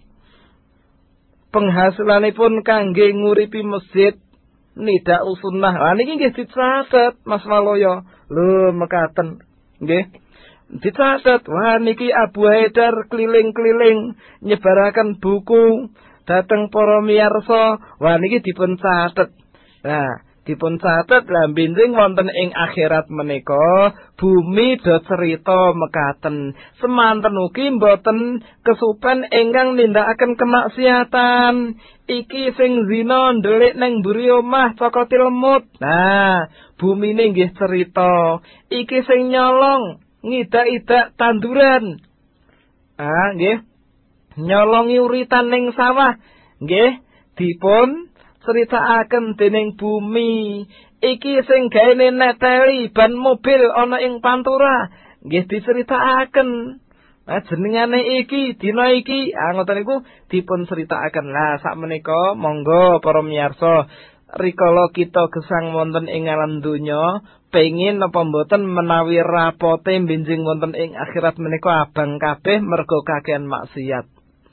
penghasilanipun kangge nguripi masjid Nida Usunnah. Nah niki nggih dicatet Mas Waloyo. Lho mekaten nggih. Dicatet. Wah niki Abu Haidar keliling-keliling nyebaraken buku dhateng para miyarsa. Wah niki dipun catet. Nah dipun catet lan benjing wonten ing akhirat menika bumi do cerita mekaten. Semanten ugi mboten kesupen ingkang nindakaken kemaksiatan. Iki sing zina ndelik nang mburi omah cokoti lemut. Nah, bumine nggih cerita. Iki sing nyolong ngidak-idak tanduran. Ah, nggih. Nyolongi uritan ning sawah. Nggih, dipun critakaken dening bumi. Iki sing gaene neteli ban mobil ana ing pantura. Nggih diceritakaken. Nah jenengane iki dina iki ngoten niku dipun critakaken. Lah sak menika monggo para miyarsa rikala kita gesang wonten ing alam donya pengin napa mboten menawi rapote benjing wonten ing akhirat menika abang kabeh mergo kakehan maksiat.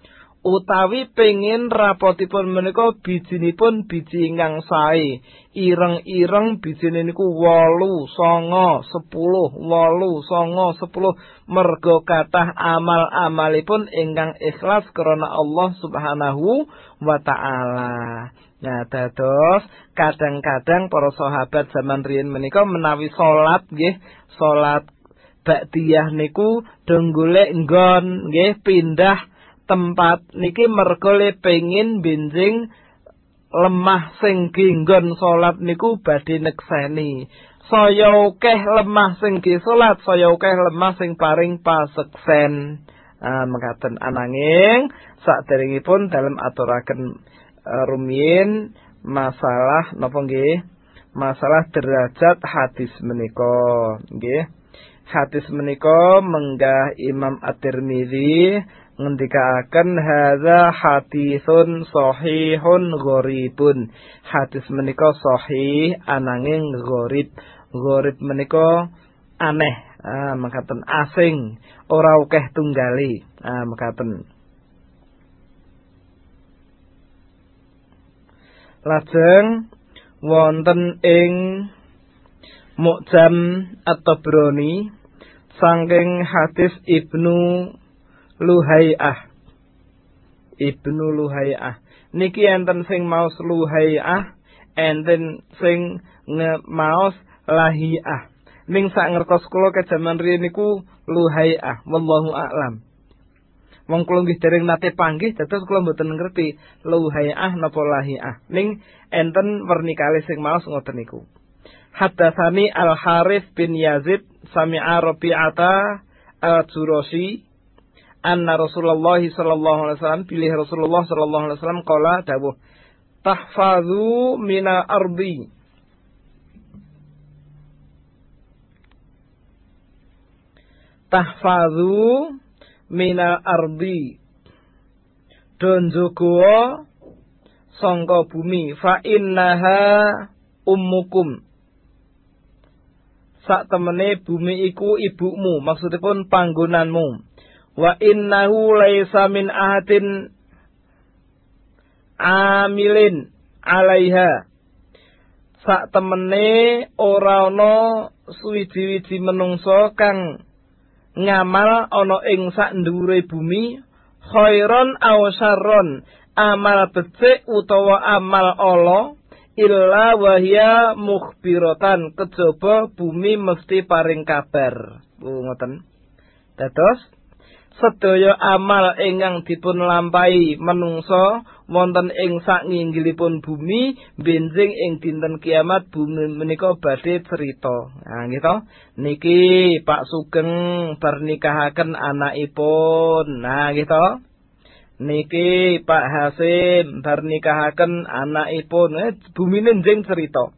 Utawi pengin rapotipun menika bijinipun biji ingkang sae, ireng-ireng bijine niku 8, 9, 10, 8, 9, 10 merga kathah amal-amalipun ingkang ikhlas krana Allah Subhanahu wa taala. Nah, dados kadang-kadang para sahabat zaman riyin menika menawi salat nggih, salat ba'diyah niku do golek nggon nggih pindah tempat niki mergo le pengin benjing lemah sing nggon salat niku badhe nekseni. Saya akeh lemah sing ge salat, saya akeh lemah sing paring paseksen. Mekaten ananging saderengipun dalem aturaken rumiyin masalah napa nggih? Masalah derajat hadis menika nggih. Hadis menika menggah Imam At-Tirmidzi ngendikaaken hadza haditsun shahihun gharibun. Hadis menika sahih ananging gharib. Gharib menika aneh, mekaten asing, ora akeh tunggali, mekaten. Lajeng wonten ing Mu'jam At-Tabrani saking hadis Ibnu Luhai'ah. Ibnu Luhai'ah niki enten sing maos Luhai'ah, enten sing maos Lahi'ah. Ning sak ngertos kula kejaman riyen niku Luhai'ah, wallahu a'lam. Wong kula nggih dereng nate panggih dados kula mboten ngerti Luhai'ah napa Lahi'ah. Ning enten werni kalih sing maos ngoten niku. Haddatsani Al-Harits bin Yazid sami'a Rabi'ata Al-Jurashi anna Rasulullah sallallahu alaihi wasallam pilih Rasulullah sallallahu alaihi wasallam qala dawuh tahfazu minal ardi tahfazu minal ardi don jogo sangka bumi fa innaha ummukum sak temene bumi iku ibumu, maksudipun panggonanmu. Wa innahu laisa min ahadin amilin alaiha sak temene ora ana suwiji-wiji menungso kang ngamal ana ing sak ndhuwure bumi khairon aw syarron, amal becik utawa amal ala, illa wahya mukhbiratan, kejaba bumi mesti paring kabar. Ngoten. Dados sedaya amal ingkang dipun lampahi menungso wonten ing sak nginggilipun bumi benjing ing dinten kiamat bumi menika badhe crita. Nah nggih to. Niki Pak Sugeng bar nikahaken anakipun. Nah nggih to. Niki Pak Hasim bar nikahaken anakipun, bumine njing cerita.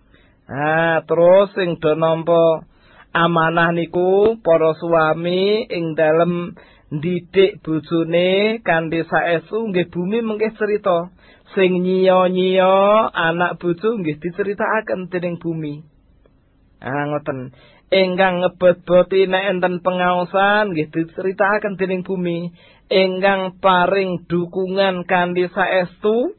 Terus sing do nampa amanah niku para suami ing dalem ndidik bojone kanthi saestu nggih bumi mengke cerita. Sing nyiya-nyiya anak bojo nggih diceritakaken dening bumi. Ngoten. Ingkang ngebot-boti nek enten pengaosan nggih diceritakaken dening bumi. Ingkang paring dukungan kanthi saestu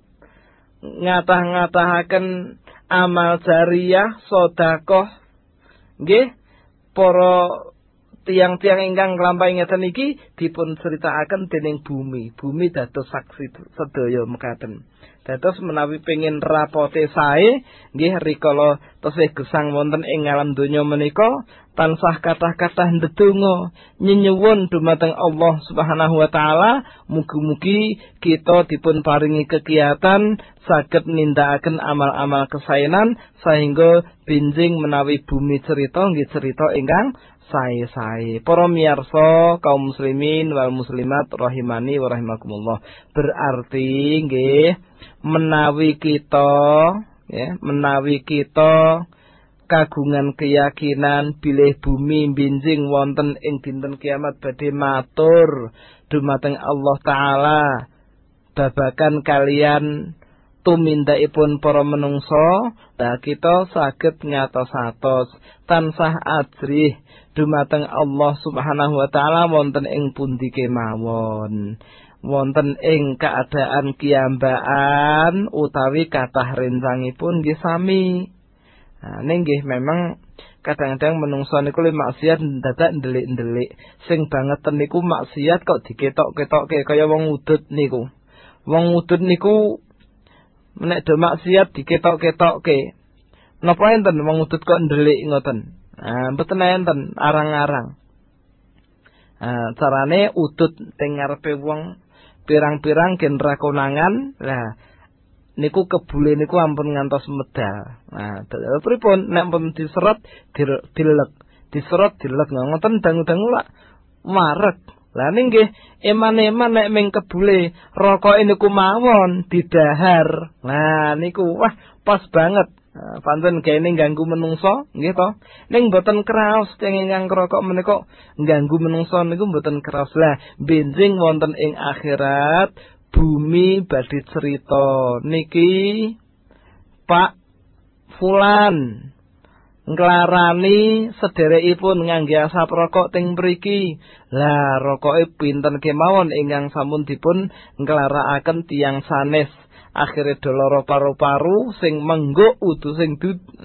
ngatah-ngatahaken amal jariyah sedekah nggih para tiang-tiang ingkang nglampahi ngeten iki dipun critakaken dening bumi. Bumi dados saksi sedaya mekaten. Dados menawi pengin rapote sae nggih rikala tesih gesang wonten ing alam donya menika tansah kathah-kathah ndedonga nyenyuwun dumateng Allah Subhanahu wa taala mugi-mugi kita dipun paringi kegiatan saged nindakaken amal-amal kesaenan sehingga benjing menawi bumi cerita nggih cerita ingkang sae-sae. Para miyarsa kaum muslimin wal muslimat rahimani wa rahimakumullah. Berarti nggih menawi kita kagungan keyakinan bilih bumi benjing wonten ing dinten kiamat badhe matur dumateng Allah taala babagan kalian tumindakipun para menungso, kita saged ngatos-atos tansah ajrih dumateng Allah Subhanahu wa taala wonten ing pundi kemawon. Wonten ing keadaan kiyambaan utawi kathah rencangipun nggih sami. Ning nggih memang kadang-kadang menungso niku le maksiat dadak ndelik-ndelik. Sing bangeten niku maksiat kok diketok-ketokke kaya wong udut niku. Wong udut niku nek do maksiat diketok-ketokke. Napa enten wong udut kok ndelik ngoten? Mboten enten arang-arang. Carane udut teng ngarepe wong pirang-pirang genera konangan. Lah niku kebule niku ampun ngantos medal. Pripun nek pun diserot dilek, diserot dilek ngoten dangu-dangu lak marek. Lah ning nggih eman-eman nek ming kebule rokoke niku mawon didahar. Nah niku wah pas banget. Pancen kene ganggu menungso nggih to. Ning mboten kraos teng ingkang rokok menika ganggu menungso niku mboten kraos. Lah benjing wonten ing akhirat bumi badhe cerita niki Pak Fulan nglarani sederekipun ngangge asap rokok teng mriki. Lah rokoke pinten kemawon ingkang sampun dipun nglarakaken tiyang sanes. Akhire doloro paru-paru sing mengguk udu sing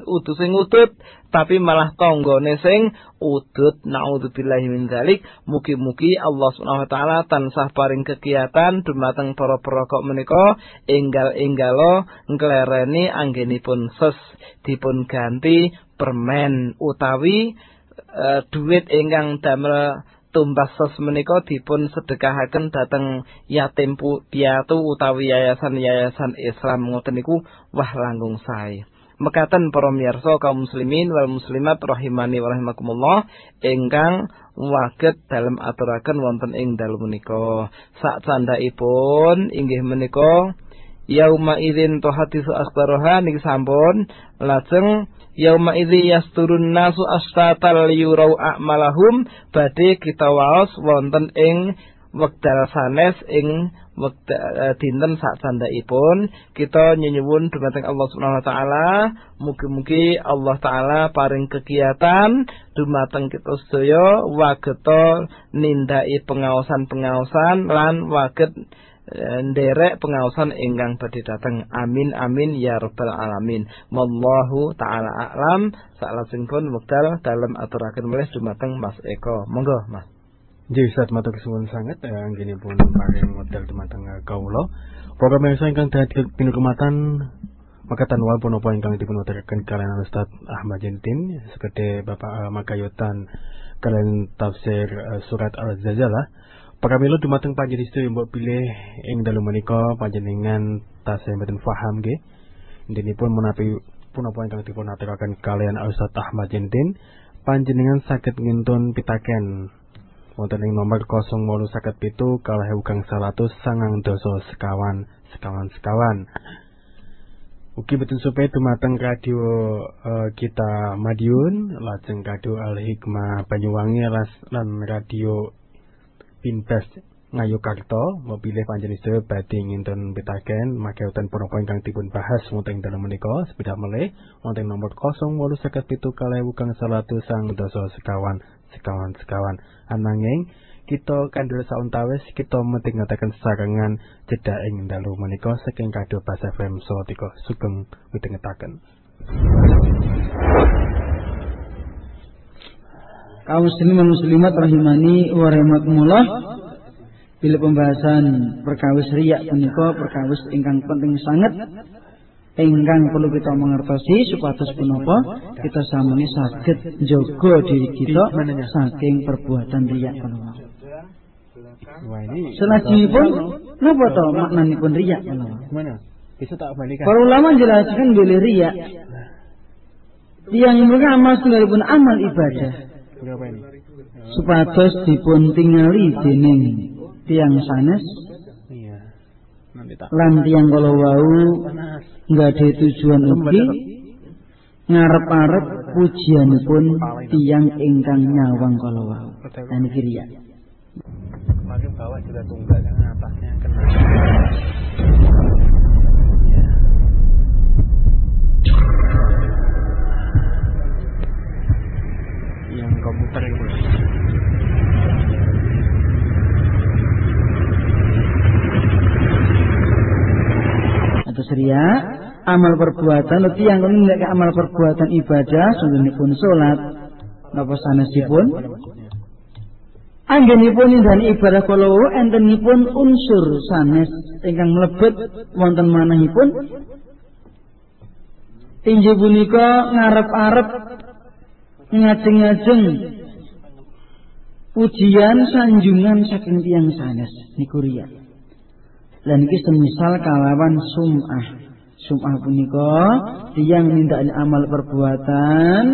udut tapi malah tanggane sing udut. Naudzubillahi min dzalik. Mugi-mugi Allah Subhanahu wa taala tansah paring kegiatan dumateng para perokok menika enggal-enggalo nglereni anggenipun ses dipun ganti permen utawi duit ingkang damel tumbas ses menika dipun sedekahaken dhateng yatim piatu utawi yayasan-yayasan Islam ngoten niku wah langkung sae. Mekaten para miyarsa kaum muslimin wal muslimat rahimani wa rahimakumullah ingkang waget dalem aturaken wonten ing dalu menika. Sak candhaipun inggih menika yauma idzin tuhadisu akhbaraha niki sampun lajeng yauma idzi yasturun nasu astatal yurau a'malahum badhe kita waos wonten ing wekdal sanes ing dinten sak candhaipun kita nyuwun dumateng Allah Subhanahu wa taala mugi-mugi Allah taala paring kegiatan dumateng kita sedaya wageta nindaki pengaosan-pengaosan lan waget nderek pengaosan ingkang badhe dateng. Amin amin ya rabbal alamin. Wallahu taala a'lam. Salajengipun wekdal dalem aturaken malih dumateng Mas Eko. Monggo Mas. Nggih Ustaz matur suwun sanget anggenipun paring wekdal dumateng kawula. Program ingkang dadi pinurmatan makaten wal punapa ingkang dipun aturaken kalian Ustaz Ahmad Jentin sekedhe Bapak Makayutan kalian tafsir surat Al-Zalzalah. Pramila dumateng panjenengan mbok pilih ing dalu menika panjenengan tasih mboten paham nggih. Intinipun menawi punapa ingkang dipun aturaken kalian Ustaz Ahmad Jentin panjenengan saged ngintun pitaken wonten ing nomor 0817 sekawan. Ugi boten supaya dumateng radio kita Madiun lajeng radio Al Hikmah Banyuwangi lan radio Pintas Ngayogyakarta mopilih panjenengan badhe ngintun pitaken makaten punapa ingkang dipun bahas wonten dalem menika sepidak melih wonten nomor 0817 sekawan. Ananging kita kandhel sauntawis kita medhingetaken sarengan cedhak ing dalu menika saking Radio Bas FM Salatiga sugeng midhangetaken. Kaum muslimin muslimat rahimani wa rahimakumullah. Bila pembahasan perkawis riya punika perkawis ingkang penting sangat ingkang perlu kita mengertosi supados punapa kita samuni saged njaga diri kita saking perbuatan riya punika. Selajengipun napa to maknanipun riya punika? Gimana? Bisa tak balikan. Para ulama menjelaskan bila riya yang mereka amal sekalipun amal ibadah berapa ini? Supados dipun tingali dening tiyang sanes lan tiyang kala wau nggade tujuan ugi ngarep-arep pujianipun tiyang ingkang nyawang kala wau. Lan iki riya. Kemarin bawah juga tunggak yang atasnya kena. Yang komputer itu. Atus riya amal perbuatan uti yang nindakake amal perbuatan ibadah sununipun salat napa sanesipun anggenipun indhani ibadah kala entenipun unsur sanes ingkang mlebet wonten manahipun inggih punika ngarep-arep ngajeng-ngajeng pujian sanjungan saking tiyang sanes niku riya. Lan iki semisal kalawan sum'ah punika tiyang nindakake amal perbuatan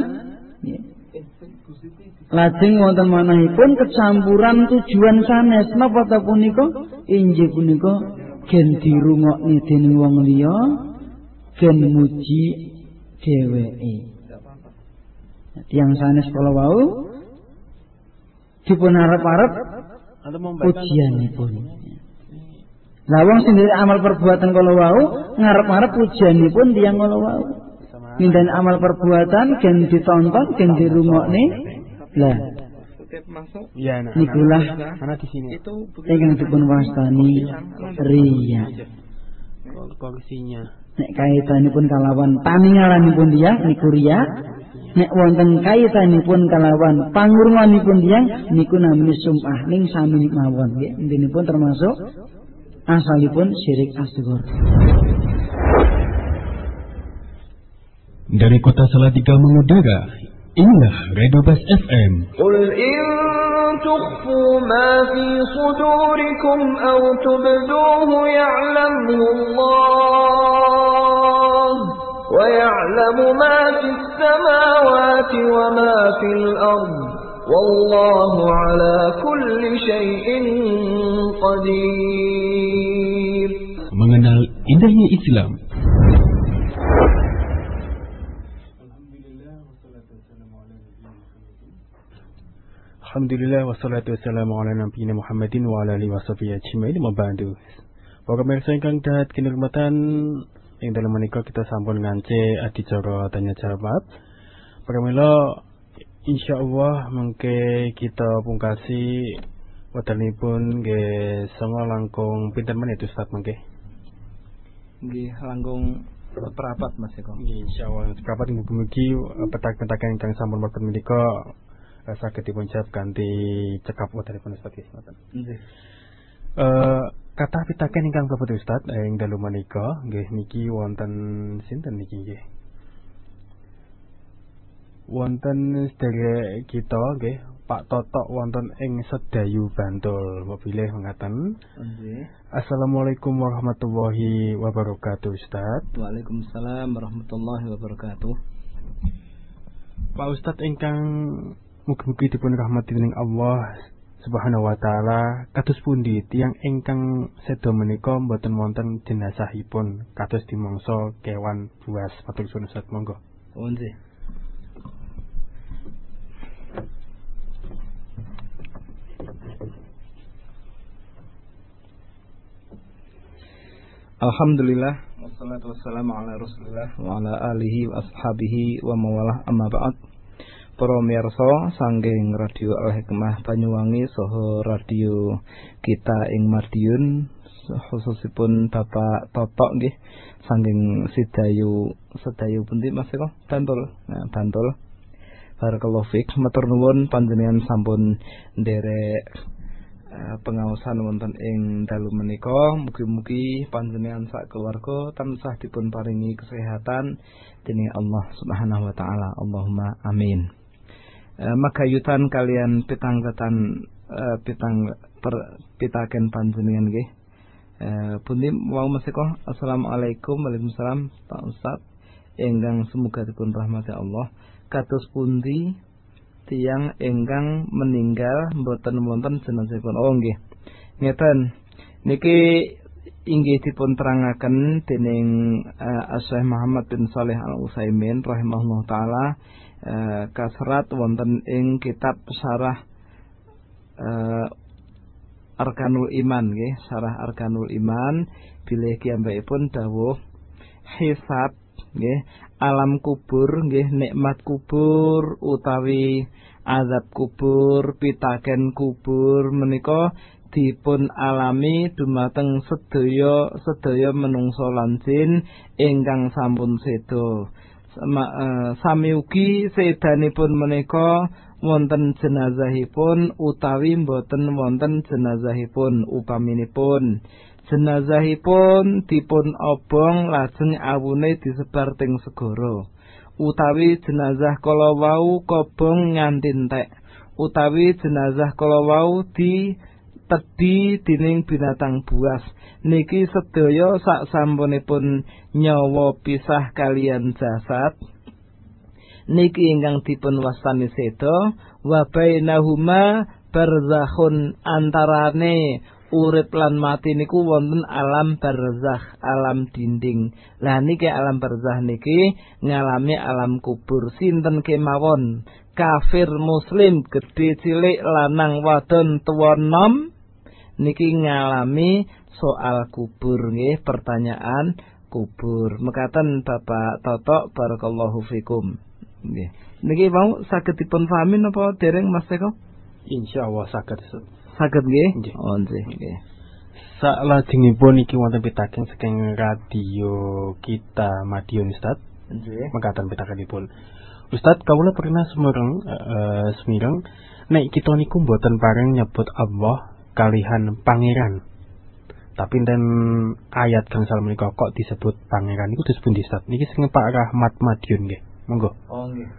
lajeng wonten manahipun kecampuran tujuan sanes napa ta punika inggih punika gen dirungokne dening wong liya gen muji dheweke. Tiyang sanes kala wau dipun arep-arep pujianipun. Lah wong sing amal perbuatan kala wau ngarep-arep pujianipun tiyang kala wau. Nindani amal perbuatan gen ditonton, gen dirungokne. Lah ya, nikulah mana di sini ingkang dipun wastani riya. Korupsinya. Nek kaitanipun kalawan paningalanipun tiyang niku riya. Nek wonten kaitanipun kalawan pangurunganipun tiyang niku namine sum'ah ning sami mawon nggih. Intinipun termasuk asalipun syirik asghar. Dari kota Salatiga mengudara, inilah Radio Bas FM. Qul in tukhfu ma fi sudurikum aw tubduhu ya'lamu Allah wa ya'lamu ma fi samawati wa ma fil ard wallahu ala kulli syai'in qadir. Mengenal indahnya Islam. Alhamdulillah wassalatu wassalamu ala nabiyina Muhammadin wa ala alihi washabihi ajmain wa ba'du. Para pemirsa ingkang dahat kinurmatan ing dalem menika kita sampun ngance adicara tanya jawab. Para mila insyaallah mengke kita pungkasi wektalipun nggih songo langkung pinten menit Ustaz mengke. Nggih langkung seprapat Mas Eko. Nggih insyaallah seprapat mugi-mugi petak-petakan ingkang sampun wonten menika saged dipuncap kanthi cekap wontenipun Ustaz ngoten. Nggih. Kathah pitaken ingkang klebet Ustaz ing dalu menika nggih niki wonten sinten niki nggih. Wonten sedherek kita nggih Pak Totok wonten ing Sedayu Bantul. Bilih mengatakan Nggih. Assalamualaikum warahmatullahi wabarakatuh Ustaz. Waalaikumsalam warahmatullahi wabarakatuh. Pak Ustaz ingkang mugi-mugi dipun rahmati dening Allah Subhanahu wa taala, kados pundi tiyang ingkang seda menika mboten wonten jenazahipun kados dimangsa kewan buas? Matur suwun Ustaz, monggo. Nggih. Alhamdulillah wassalatu wassalamu ala Rasulillah wa ala alihi wa ashabihi wa mawalah amma ba'd. Para miyarsa saking Radio Al Hikmah Banyuwangi saha radio kita ing Madiun khususipun Bapak Totok nggih saking Sedayu pundi Mas Eko? Bantul. Nah, Bantul. Barakallahu fik. Matur nuwun panjenengan sampun nderek pengaosan wonten ing dalu menika. Mugi-mugi panjenengan sak keluarga tansah dipun paringi kesehatan dening Allah Subhanahu wa taala. Allahumma amin. Magayutan kalian pitaken panjenengan nggih. Pundi wau Mas Eko. Assalamualaikum. Waalaikumsalam Pak Ustaz. Ingkang semoga dipun rahmati Allah. Kados pundi tiyang ingkang meninggal mboten wonten jenazahipun? Oh nggih. Ngeten. Niki inggih dipun terangaken dening Syekh Muhammad bin Shalih Al Utsaimin rahimahullah taala kaserat wonten ing kitab Syarah Arkanul Iman nggih, Syarah Arkanul Iman bilih kiyambakipun dawuh hisab nggih, alam kubur nggih, nikmat kubur utawi azab kubur, pitaken kubur menika dipun alami dumateng sedaya menungso lan jin ingkang sampun seda. Sami ugi sedanipun menika wonten jenazahipun utawi mboten wonten jenazahipun. Upaminipun jenazahipun dipun obong lajeng awune disebar teng segara, utawi jenazah kala wau kobong nganti entek, utawi jenazah kala wau ditedhi dening binatang buas, niki sedaya sak sampunipun nyawa pisah kalian jasad niki ingkang dipun wastani seda wa bainahuma barzakhun, antarane urip lan mati niku wonten alam barzakh, alam dinding. Lah niki alam barzakh niki ngalami alam kubur. Sinten kemawon, kafir muslim, gedhe cilik, lanang wadon, tuwa nom, niki ngalami soal kubur nggih, pertanyaan kubur. Mekaten Bapak Toto, barakallahu fikum. Nggih. Niki mau saged dipun pahami napa dereng Mas Eko? Insyaallah saged. Saged nggih? Oh nggih. Salajengipun iki wonten pitaken saking radio kita Madiun Ustaz. Nggih. Mekaten pitakenipun. Ustaz, kawula pernah semireng nek kita niku mboten pareng nyebut Allah kalihan pangeran. Tapi dan ayat gangsal menika kok disebut pangeran niku disebut Ustaz. Niki sing Pak Rahmat Madiun nggih. Monggo. Oh nggih.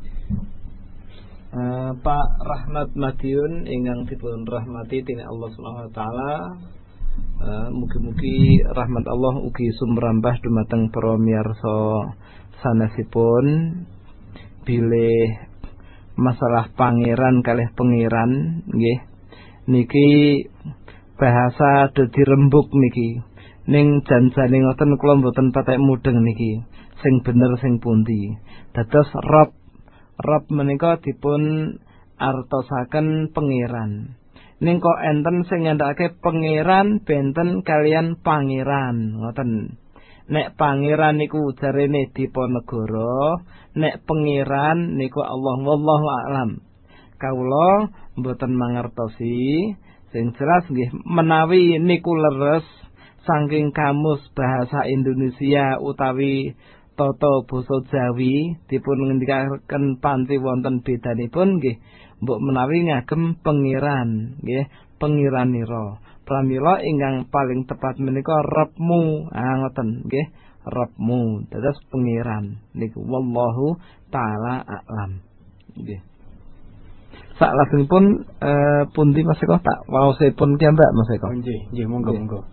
Pak Rahmat Madiun ingkang dipun rahmati dening Allah Subhanahu wa taala. Mugi-mugi rahmat Allah ugi sumrambah dumateng para miyarsa sanesipun bilih masalah pangeran kalih pengiran nggih. Niki bahasa dadi rembug niki. Ning janjane ngoten kula mboten patek mudeng niki. Sing bener sing pundi. Dados Rob menika dipun artosaken pangeran. Ning kok enten sing nyandhakake pangeran benten kalian pangeran, ngoten. Nek pangeran niku jarene Diponegoro, nek pangeran niku Allah, wallahu a'lam. Kawula mboten mangertosi, sing jelas nggih menawi niku leres saking kamus bahasa Indonesia utawi tata basa Jawi dipun ngendikaken panci wonten bedanipun nggih mbok menawi ngagem pengiran nggih pengiranira pramila ingkang paling tepat menika Rabbmu ngoten nggih Rabbmu dados pengiran niku wallahu taala a'lam nggih saklajengipun pundi Mas Eko tak waosipun ki Mbak Mas Eko nggih monggo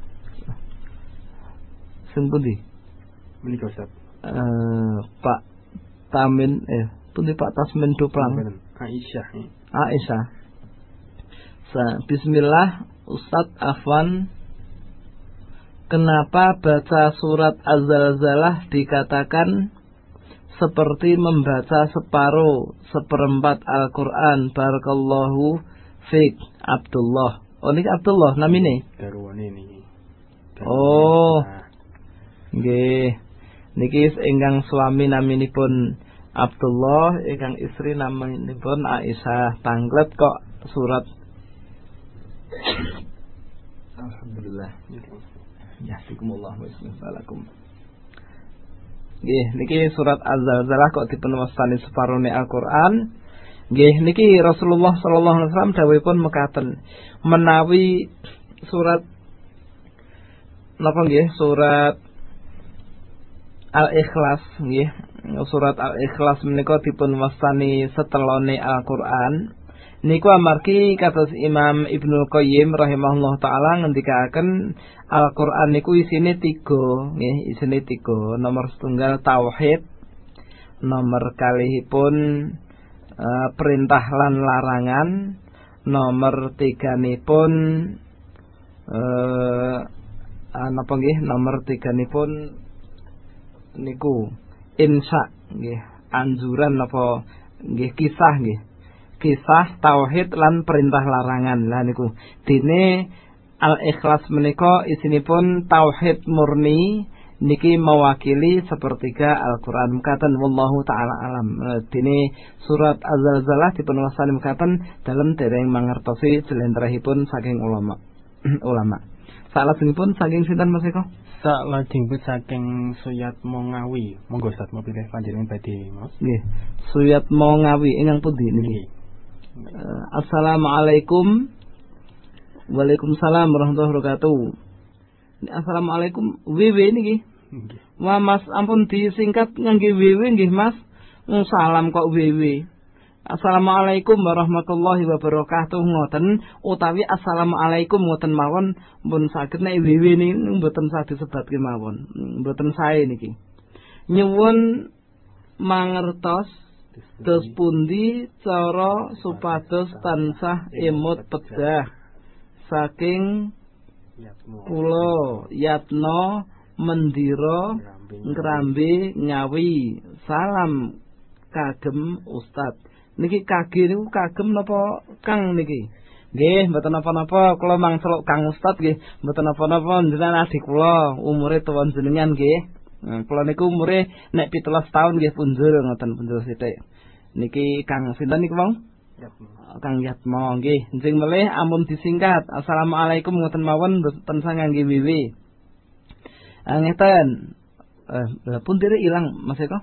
sing pundi menika Ustaz Pak Tamin pundi Pak Tasmin Duplang Aisyah. Bismillah Ustadz Afwan, kenapa baca surat Az-Zalzalah dikatakan seperti membaca seperempat Al-Quran? Barakallahu fiik. Abdullah. Oh ini Abdullah namine. Garwane niki. Oh. Nggih. Niki ingkang suami naminipun Abdullah, ingkang istri naminipun Aisyah. Tanglet kok surat. Alhamdulillah. Yahdikumullah wa yuslihalakum. Nggih, niki surat Az-Zalzalah kok dipun wastani separone Al-Qur'an. Nggih, niki Rasulullah sallallahu alaihi wasallam dawuhipun mekaten, menawi surat napa nggih, surat Al-Ikhlas nggih. Surat Al-Ikhlas menika dipun wastani setelone Al-Qur'an. Niku amargi kados Imam Ibnu Qayyim rahimahullah taala ngendikaken Al-Qur'an niku isine 3 nggih, isine 3. Nomor setunggal tauhid, nomor kalihipun perintah lan larangan, nomor 3-nipun napa nggih, nomor 3-nipun niku insya nggih, anjuran napa nggih, kisah nggih. Kisah tauhid lan perintah larangan. Lah niku dene Al-Ikhlas menika isinipun tauhid murni, niki mewakili sepertiga Al-Qur'an. Mekaten wallahu taala alam. Dene surat Az-Zalzalah dipun wastani mekaten dalem dereng mangertosi jlentrehipun saking ulama. Salajengipun saking sinten Mas Eko? Salajengipun saking Suyat Mongawi. Monggo Ustaz mau pilih panjenengan badhe Mas. Nggih. Suyat Mongawi ingkang pundi niki? Assalamualaikum. Waalaikumsalam warahmatullahi wabarakatuh. Assalamualaikum. WW niki. Wah Mas, ampun disingkat ngangge WW nggih Mas. Salam kok WW. Assalamualaikum warahmatullahi wabarakatuh ngoten utawi assalamualaikum ngoten mawon pun saged nek WW niku mboten saged disebatke mawon. Mboten sae niki. Nyuwun mangertos dos pundi cara supados tansah emut pedah saking kula yatno mendira ngrambe ngawi salam kagem Ustad. Niki kage niku kagem napa Kang niki? Nggih, mboten napa-napa, kula mangseluk Kang Ustad nggih, mboten napa-napa jenengan adik kula, umure tuwon jenengan nggih. Kula niku umure nek 17 tahun nggih punjul ngoten punjul sithik. Niki Kang sinten niku wong? Kang Yatmo nggih. Njing melih ampun disingkat. Assalamualaikum ngoten mawon mboten sangangge wiwi. Ngeten. Pun dire ilang Mas Eko?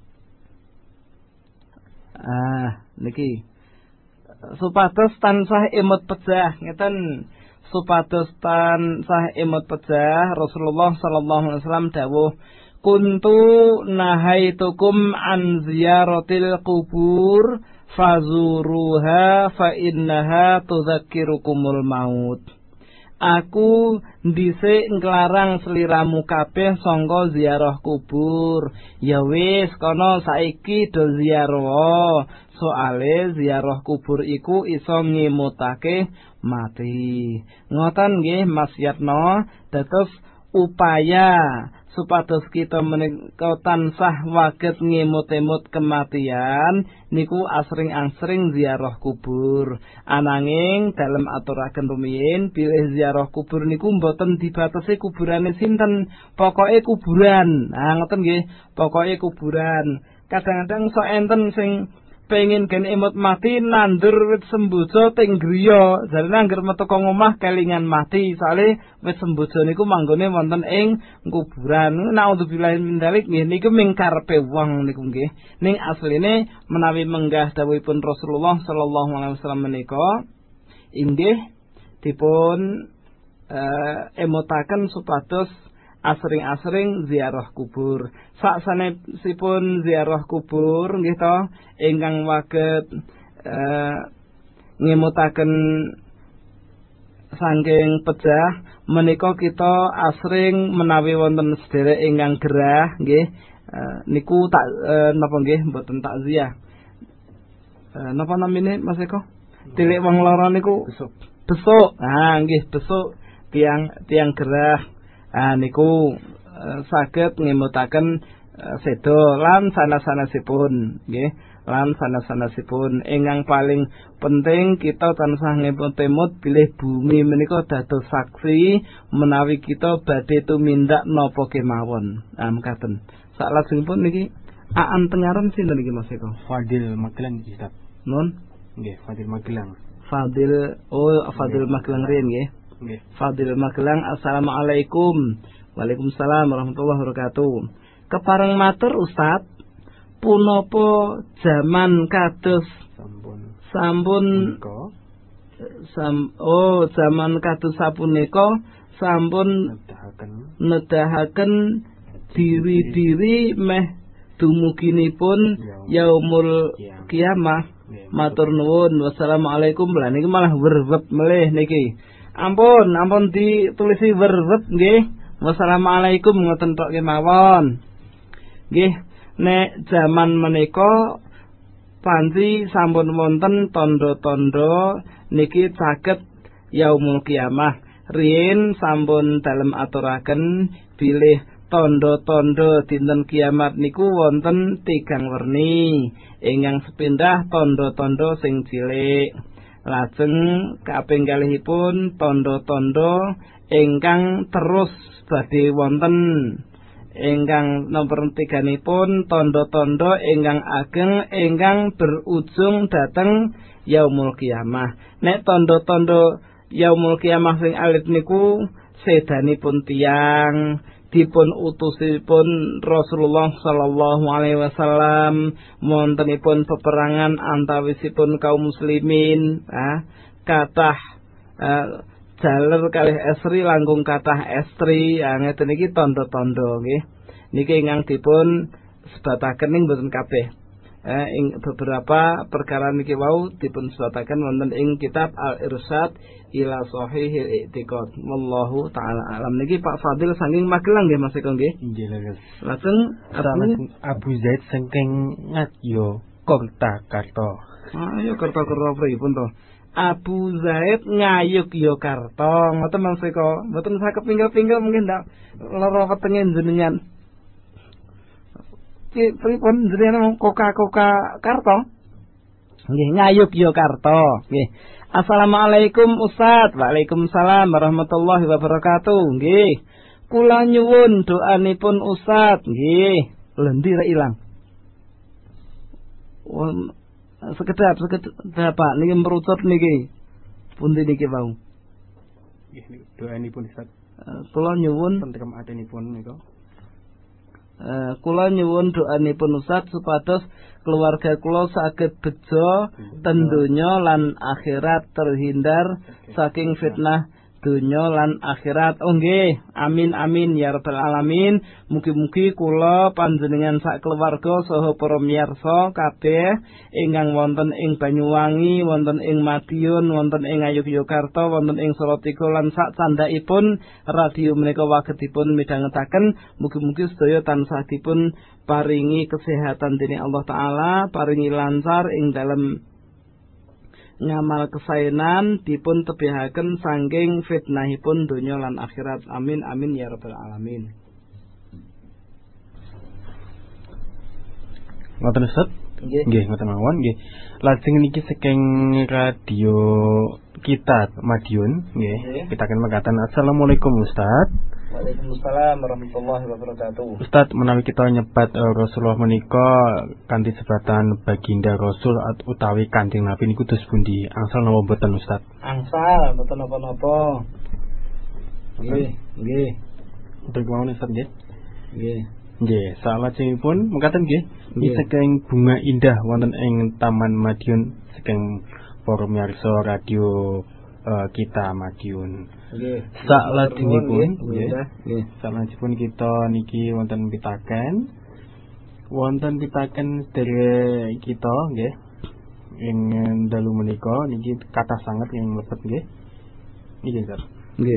Niki supados tansah emot pejah ngeten, supados tansah emot pejah Rasulullah sallallahu alaihi wasallam dawuh kuntu nahaitukum an ziyaratil qubur fazuruha fa innaha tudzakkirukumul maut. Aku dhisik nglarang sliramu kabeh sangka ziarah kubur. Ya wis kono saiki do ziarah. Soale ziarah kubur iku iso ngemutake mati. Ngoten nggih Mas Yatno, dados upaya supados kita menika tansah waget ngemut-emut kematian niku asring-asring ziarah kubur. Ananging dalem aturaken rumiyin bilih ziarah kubur niku mboten dibatasi kuburane sinten, pokoke kuburan. Ngoten nggih, pokoke kuburan. Kadang-kadang sok enten sing pengen gen emut mati nandur wit semboja teng griya, jarene angger metu ka omah kelingan mati, soalé wit semboja niku manggone wonten ing kuburan. Naudzubillahi min dzalik nggih niku ming karepe wong niku nggih. Ning asline menawi menggah dawuhipun Rasulullah sallallahu alaihi wasallam menika inggih dipun emutaken supados asring-asring ziarah kubur. Saksanesipun ziarah kubur nggih to ingkang waget ngemutaken saking pejah menika kita asring menawi wonten sederek ingkang gerah nggih niku tak napa nggih mboten takziah. Napa namine Mas Eko? Tilik wong lara niku besuk. Nggih besuk tiang gerah. Niku saged ngemutaken sedo lan sanes-sanesipun nggih, lan sanes-sanesipun ingkang paling penting kita tansah ngemut-emut bilih bumi menika dados saksi menawi kita badhe tumindak napa kemawon. Mekaten. Salajengipun niki aan tengaran sinten niki Mas Eko? Fadil Magelang iki, Ustaz. Nun? Nggih, Fadil Magelang. Fadil Magelang riyen nggih. Fadil Magelang, assalamualaikum. Waalaikumsalam warahmatullahi wabarakatuh. Kepareng matur Ustaz, punapa zaman kados sampun zaman kados sapunika sampun nedahaken diri-diri meh dumuginipun yaumul kiamah. Matur nuwun. Wassalamualaikum. Lah niki malah werwet melih niki. Ampun ditulisi werwet nggih. Wassalamualaikum ngoten tok kemawon. Nggih, nek jaman menika panci sampun wonten tanda-tanda niki saged yaumul kiamah. Riyin sampun dalem aturaken bilih tanda-tanda dinten kiamat niku wonten 3 werni. Ingkang sepindah tanda-tanda sing cilik. Lajeng kaping kalihipun tanda-tanda ingkang terus badhe wonten. Ingkang nomor 3-nipun tanda-tanda ingkang ageng ingkang berujung dhateng yaumul kiamah. Nek tanda-tanda yaumul kiamah sing alit niku sedanipun tiyang dipun utusipun Rasulullah sallallahu alaihi wasallam, wontenipun peperangan antawisipun kaum muslimin, kathah jaler kalih estri langkung kathah estri, ngeten iki tanda-tanda nggih. Niki ingkang dipun sebataken ing boten kabeh. Ing beberapa perkara niki wau dipun sebataken wonten ing kitab Al-Irsyad ila Shahihil I'tiqad. Wallahu taala alam. Niki Pak Fadil saking Magelang nggih Mas Eko nggih. Nggih leres. Lajeng Abu Zaid saking Ngadyo Kurtakarta. Ayo kerta-kerta pripun to? Abu Zaid Ngayogyakarta. Ngoten Mas Eko. Mboten saged pinggil-pinggil mungkin ndak lara wetenge jenengan. Ki pripun jenengan Coca-Cola Karta? Nggih, Ngayogyakarta. Nggih. Assalamualaikum Ustaz. Waalaikumsalam warahmatullahi wabarakatuh. Nggih. Kula nyuwun doanipun Ustaz. Nggih. Lendi ra ilang. Sekedap Pak niki merucut niki. Pundi niki wau? Nggih niku doanipun Ustaz. Kula nyuwun tentrem atenipun niku. Kula nyuwun doanipun Ustaz supados keluarga kula saged bejo ten donya lan akhirat terhindar saking fitnah donya lan akhirat. Oh nggih, amin amin ya rabbal alamin. Mugi-mugi kula panjenengan sak keluarga saha para miyarsa kabeh ingkang wonten ing Banyuwangi, wonten ing Madiun, wonten ing Ngayogyakarta, wonten ing Salatiga lan sak candhaipun radio menika wagetipun midhangetaken. Mugi-mugi sedaya tansah dipun paringi kesehatan dening Allah taala, paringi lancar ing dalem ngamal kesaenan dipun tebihaken saking fitnahipun donya lan akhirat. Amin amin ya rabbal alamin. Ngoten Ustaz? Nggih, ngoten mawon nggih. Lajeng niki saking radio kita Madiun nggih. Pitaken mekaten Assalamualaikum Ustaz. Waalaikumsalam warahmatullahi wabarakatuh. Ustaz, menawi kita nyebat Rasulullah menika kanthi sebatan baginda Rasul utawi Kanjeng Nabi niku dos pundi? Angsal napa mboten Ustaz? Angsal mboten napa-napa. Nggih, nggih. Untuk mawon Ustaz nggih. Nggih. Nggih, salajengipun mekaten nggih. Nggih saking bunga indah wonten ing Taman Madiun saking para miyarsa radio kita Madiun. Nggih. Salajengipun nggih. Salajengipun kita niki wonten pitaken. Wonten pitaken sedherek kita nggih. Ing dalu menika niki kathah sanget ing mlebet nggih. Nggih, Ustaz. Nggih.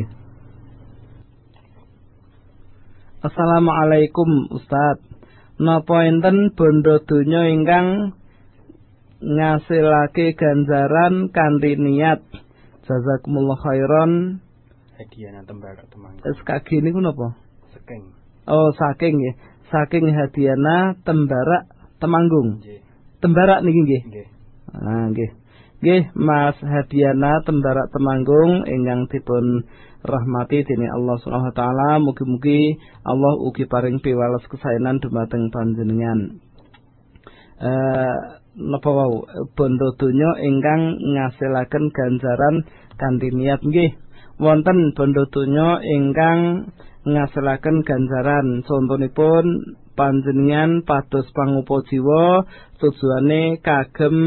Assalamualaikum Ustaz. Napa enten bondo donya ingkang ngasilake ganjaran kanthi niat? Jazakumullah khairan. Hadiah tembara temanggung. SKG niku napa? Saking. Oh, saking nggih. Saking Hadiana Tembara Temanggung. Nggih. Tembara niki nggih. Nggih. Ah, nggih. Nggih, Mas Hadiana Tembara Temanggung ingkang dipun rahmati dening Allah Subhanahu wa taala. Mugi-mugi Allah ugi paring piwales kesaenan dumateng panjenengan. Napa wau bondo donya ingkang ngasilaken ganjaran kanthi niat nggih. Wonten bondo donya ingkang ngasilaken ganjaran. Contonipun panjenengan pados pangupa jiwa tujuane kagem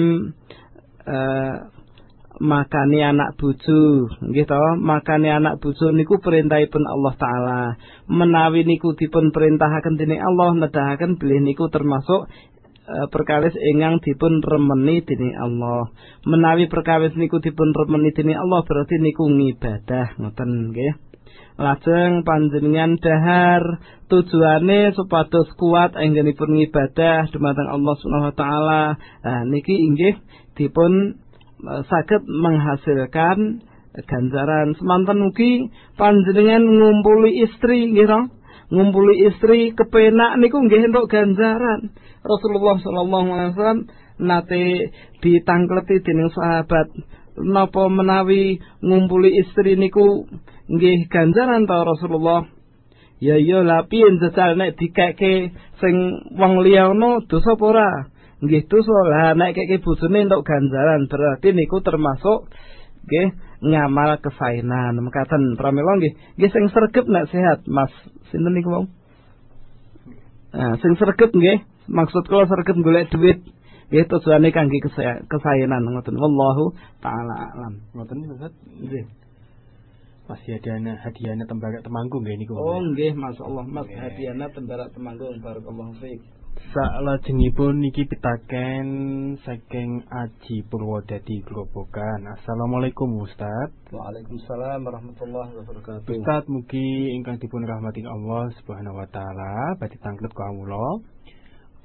makani anak bojo nggih to. Makani anak bojo niku perintahipun Allah taala. Menawi niku dipun perintahaken dening Allah, nedahaken bilih niku termasuk perkawis ingkang dipun remeni dening Allah. Menawi perkawis niku dipun remeni dening Allah berarti niku ngibadah ngoten nggih. Lajeng panjenengan dahar tujuane supados kuat anggenipun ngibadah dumateng Allah Subhanahu wa taala. Niki inggih dipun saged menghasilkan ganjaran. Semanten ugi panjenengan ngumpuli istri nggih to. Ngumpuli istri kepenak niku nggih entuk ganjaran. Rasulullah sallallahu alaihi wasallam nate ditangkleti dening sahabat, napa menawi ngumpuli istri niku nggih ganjaran ta Rasulullah? Ya iya lah piye jajal nek dikeke sing wong liya ono dosa apa ora? Nggih dosa. Lah nek keke bojone entuk ganjaran berarti niku termasuk nggih ngamal kesaenan. Mekaten pramila nggih. Nggih sing sregep nek sehat Mas sinten niku wau? Sing sregep nggih. Maksud kula sregep golek duit. Nggih tujuane kangge kesaenan ngoten. Wallahu taala alam. Ngoten Ustaz. Nggih. Mas hadiahnya Tembara Temanggung nggih niku. Oh nggih, masyaallah Mas hadiahnya Tembara Temanggung. Barakallahu fiik. Salajengipun niki pitaken saking Aji Purwodadi Grobogan. Assalamualaikum Ustaz. Waalaikumsalam warahmatullahi wabarakatuh. Ustaz mugi ingkang dipun rahmati Allah Subhanahu wa taala badhe tanglet kawula.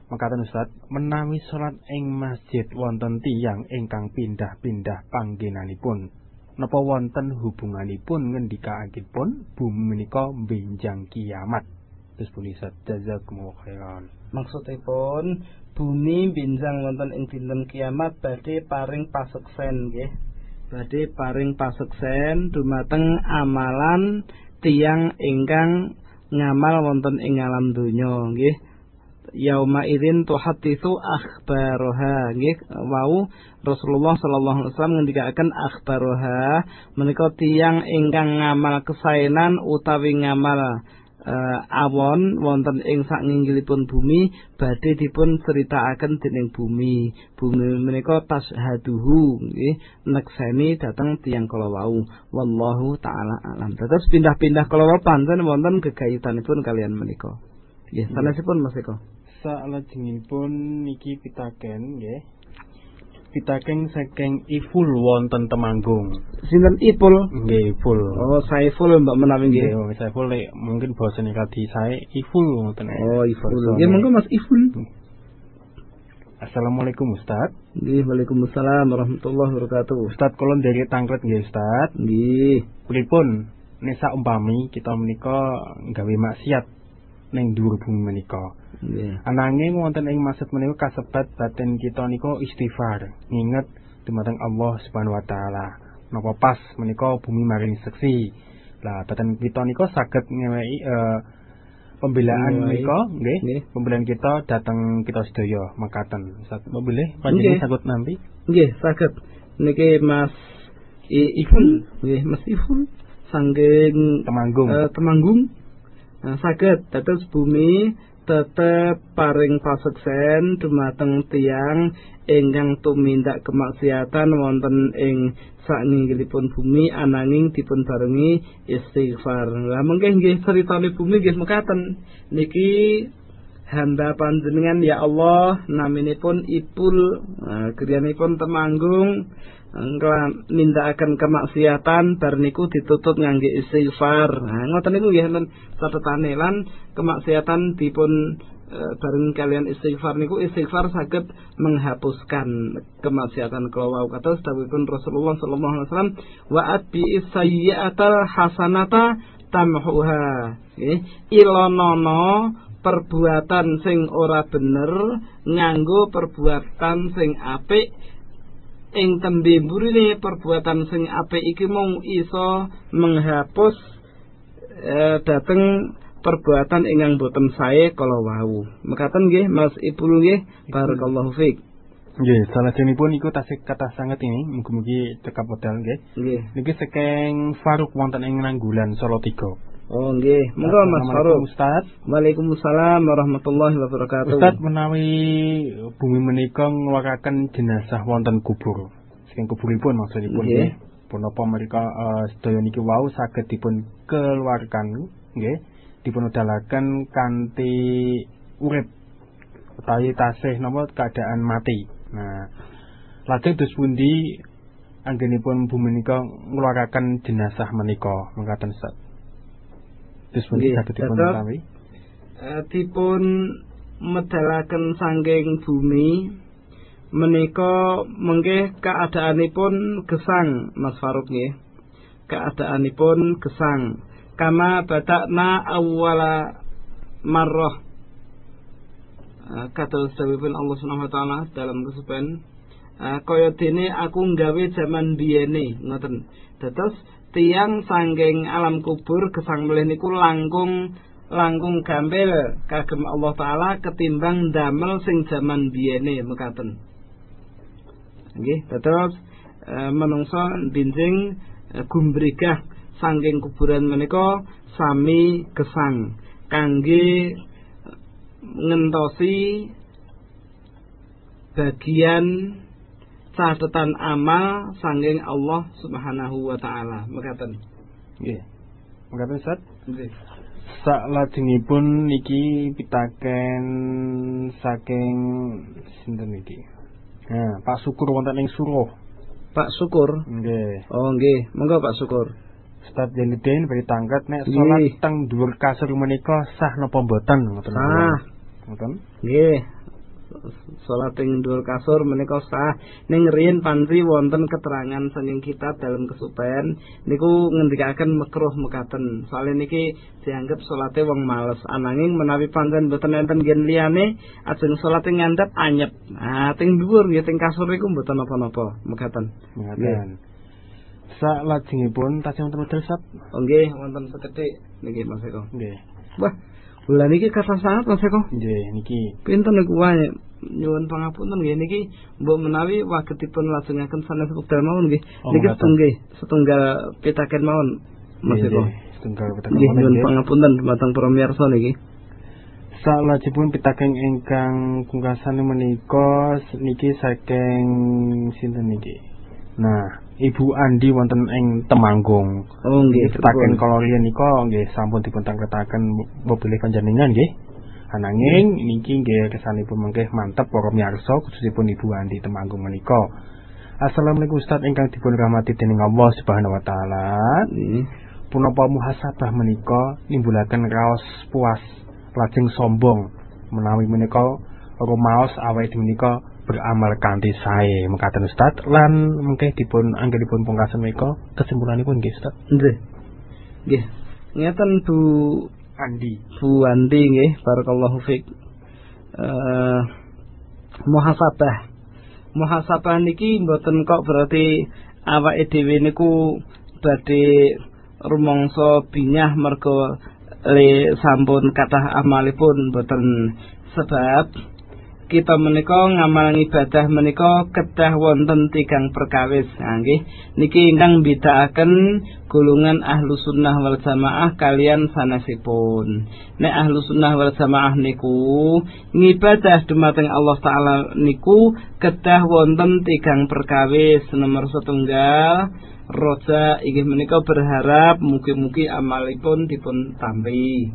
Mekaten Ustaz, menawi salat ing masjid wonten tiyang ingkang pindah-pindah panggenanipun, napa wonten hubunganipun ngendikakipun bumi menika benjang kiamat? Terus pun Ustaz, jazakumullah khairan. Maksudipun bumi benjang wonten ing dinten kiamat badhe paring paseksen nggih. Badhe paring paseksen dumateng amalan tiyang ingkang ngamal wonten ing alam donya nggih. Yauma idzin tuhadditsu akhbaroha nggih, wau Rasulullah sallallahu alaihi wasallam ngendikaken akhbaroha menika tiyang ingkang ngamal kesaenan utawi ngamal awon wonten ing saknginggilipun bumi badhe dipun critakaken dening bumi. Bumi menika tashaduhu nggih, nekseni dhateng tiyang kala wau. Wallahu taala alam. Terus pindah-pindah kala wau pancen wonten gegayutanipun kalian menika. Nggih, sanesipun Mas Eko. Salajengipun niki pitaken nggih. Pitaken saking Iful wonten Temanggung. Sinten Ipul? Nggih, Iful. Oh, Saiful Mbak menawi nggih. Nggih, Saiful mungkin basane kadi sae Iful wonten. Oh, Iful. Nggih, monggo Mas Iful. Assalamualaikum Ustaz. Nggih, waalaikumsalam warahmatullahi wabarakatuh. Ustaz kula ndherek tangklet nggih Ustaz. Nggih. Pripun nek sak umpami kita menika gawe maksiat ning dhuwur bumi menika. Nggih. Ananging wonten ing maksud menika kasebat batin kita nika istighfar, nginget dumateng Allah Subhanahu wa taala. Napa pas menika bumi maring seksi. Lah batin kita nika saged ngeweki pembelaan menika nggih. Pembelaan kita dateng kita sedaya mekaten. Ustaz, boleh panjenengan saged nampi? Nggih, saged. Niki Mas Iful, nggih Mas Iful saking Temanggung. Temanggung. Saged dados bumi tetep paring paseksen dumateng tiyang ingkang tumindak kemaksiatan wonten ing saknginggilipun bumi ananging dipun barengi istighfar. Lah mengke nggih critane bumi nggih mekaten. Niki hamba panjenengan ya Allah naminipun Ipul, griyanipun Temanggung nindakaken kemaksiatan bar niku ditutup ngangge istighfar. Ngoten niku nggih enten catetane lan kemaksiatan dipun bareng kalian istighfar niku istighfar saged menghapuskan kemaksiatan kala wau kados dawuhipun Rasulullah sallallahu alaihi wasallam wa atbi sayyi'atal hasanata tamhuha. Ilonono perbuatan sing ora bener nganggo perbuatan sing apik. Ing tembe mburine perbuatan sing apik iki mung iso menghapus dhateng perbuatan ingkang boten sae kala wau. Mekaten nggih Mas Ipul nggih, barakallahu fiik. Nggih, salajengipun iku tasih kathah sanget ini, mugi-mugi cekap wedal nggih. Nggih. Niki saking Faruk wonten ing Nanggulan Solo 3. Oh nggih, monggo Mas Faruk. Ustaz. Waalaikumsalam warahmatullahi wabarakatuh. Ustaz, menawi bumi menika ngeluaraken jenazah wonten kubur. Saking kuburipun maksudipun nggih. Punapa mereka sedaya niki wau saged dipun keluarkan nggih, dipun udalaken kanthi urip utawi tasih napa keadaan mati. Nah, lajeng dos pundi anggenipun bumi menika ngeluaraken jenazah menika mengkaten Ustaz. Terus pun dipun medalaken saking bumi menika mengke keadaanipun gesang Mas Faruk nggih. Keadaanipun gesang kama badakna awwala marrah. Kata dawuhipun Allah Subhanahu wa taala dalam kesupen kaya dene aku nggawe jaman biyene ngoten. Dados tiyang sangking alam kubur gesang melih niku langkung gampil kagem Allah taala ketimbang damel sing jaman biyene mekaten. Nggih, terus menungso binjing gumbrigah sangking kuburan menika sami gesang kangge ngentosi bagian catatan amal sanging Allah Subhanahu wa taala. Mekaten. Nggih. Mekaten Ustaz? Nggih. Salajengipun niki pitaken saking sinten niki? Nah, Pak Syukur wonten ing Suruh. Pak Syukur? Nggih. Oh, nggih. Monggo Pak Syukur. Ustaz Janudin beri tangkat nek salat teng dhuwur kasur menika sah napa mboten ngoten. Sah. Ngoten? Nggih. salat ing dhuwur kasur menika sah. Ning riyen panri wonten keterangan saking kitab dalam kesupen niku ngendikaken makruh mekaten. Soale niki dianggep salate wong males. Ananging menawi pancen boten enten gen liyane ajeng salate ngandhap anyep. Nah, teng dhuwur nggih teng kasur niku mboten napa-napa mekaten. Mekaten. Salajengipun tasih wonten model sap? Oh nggih, wonten sekedhik niki Mas Eko. Nggih. Wah, bulan niki kata sangat Mas Eko. Nggih, niki. Pinten niku wae. Nyuwun pangapunten nggih niki mbok menawi wagetipun lajengaken sanes wekdal mawon nggih. Niki setunggal pitaken mawon Mas Eko. Setunggal pitaken mawon. Nyuwun nggih. pangapunten dumateng para mirsa niki. Salajengipun pitaken ingkang pungkasan menika niki saking sinten niki. Nah, Ibu Andi wonten ing Temanggung. Oh nggih, pitaken kala riyen nika nggih sampun dipuntangketaken mobilih panjenengan nggih. Ananging niki nggih kesanipun mengke mantep para miyarsa khususipun Ibu Andi Temanggung menika. Assalamualaikum Ustaz ingkang dipun rahmati dening Allah Subhanahu wa taala. Punapa muhasabah menika nimbulaken raos puas lajeng sombong menawi menika rumaos awake menika beramal kanthi sae mekaten Ustaz lan mengke dipun anggenipun pungkasan menika kesimpulanipun nggih Ustaz. Nggih. Nggih. Ngeten Bu Andi nggih barakallahu fik. Muhasabah niki mboten kok berarti awake dhewe niku badhe rumangsa binyah merga le sampun kathah amalipun mboten, sebab kita menika ngamal ibadah menika kedah wonten tigang perkawis. Nggih niki ingkang mbedakaken golongan ahlu sunnah wal jamaah kalian sanesipun. Nek ahlu sunnah wal jamaah niku ngibadah dumateng Allah taala niku kedah wonten tigang perkawis. Nomor setunggal roja inggih menika berharap mugi-mugi amalipun dipun tampi.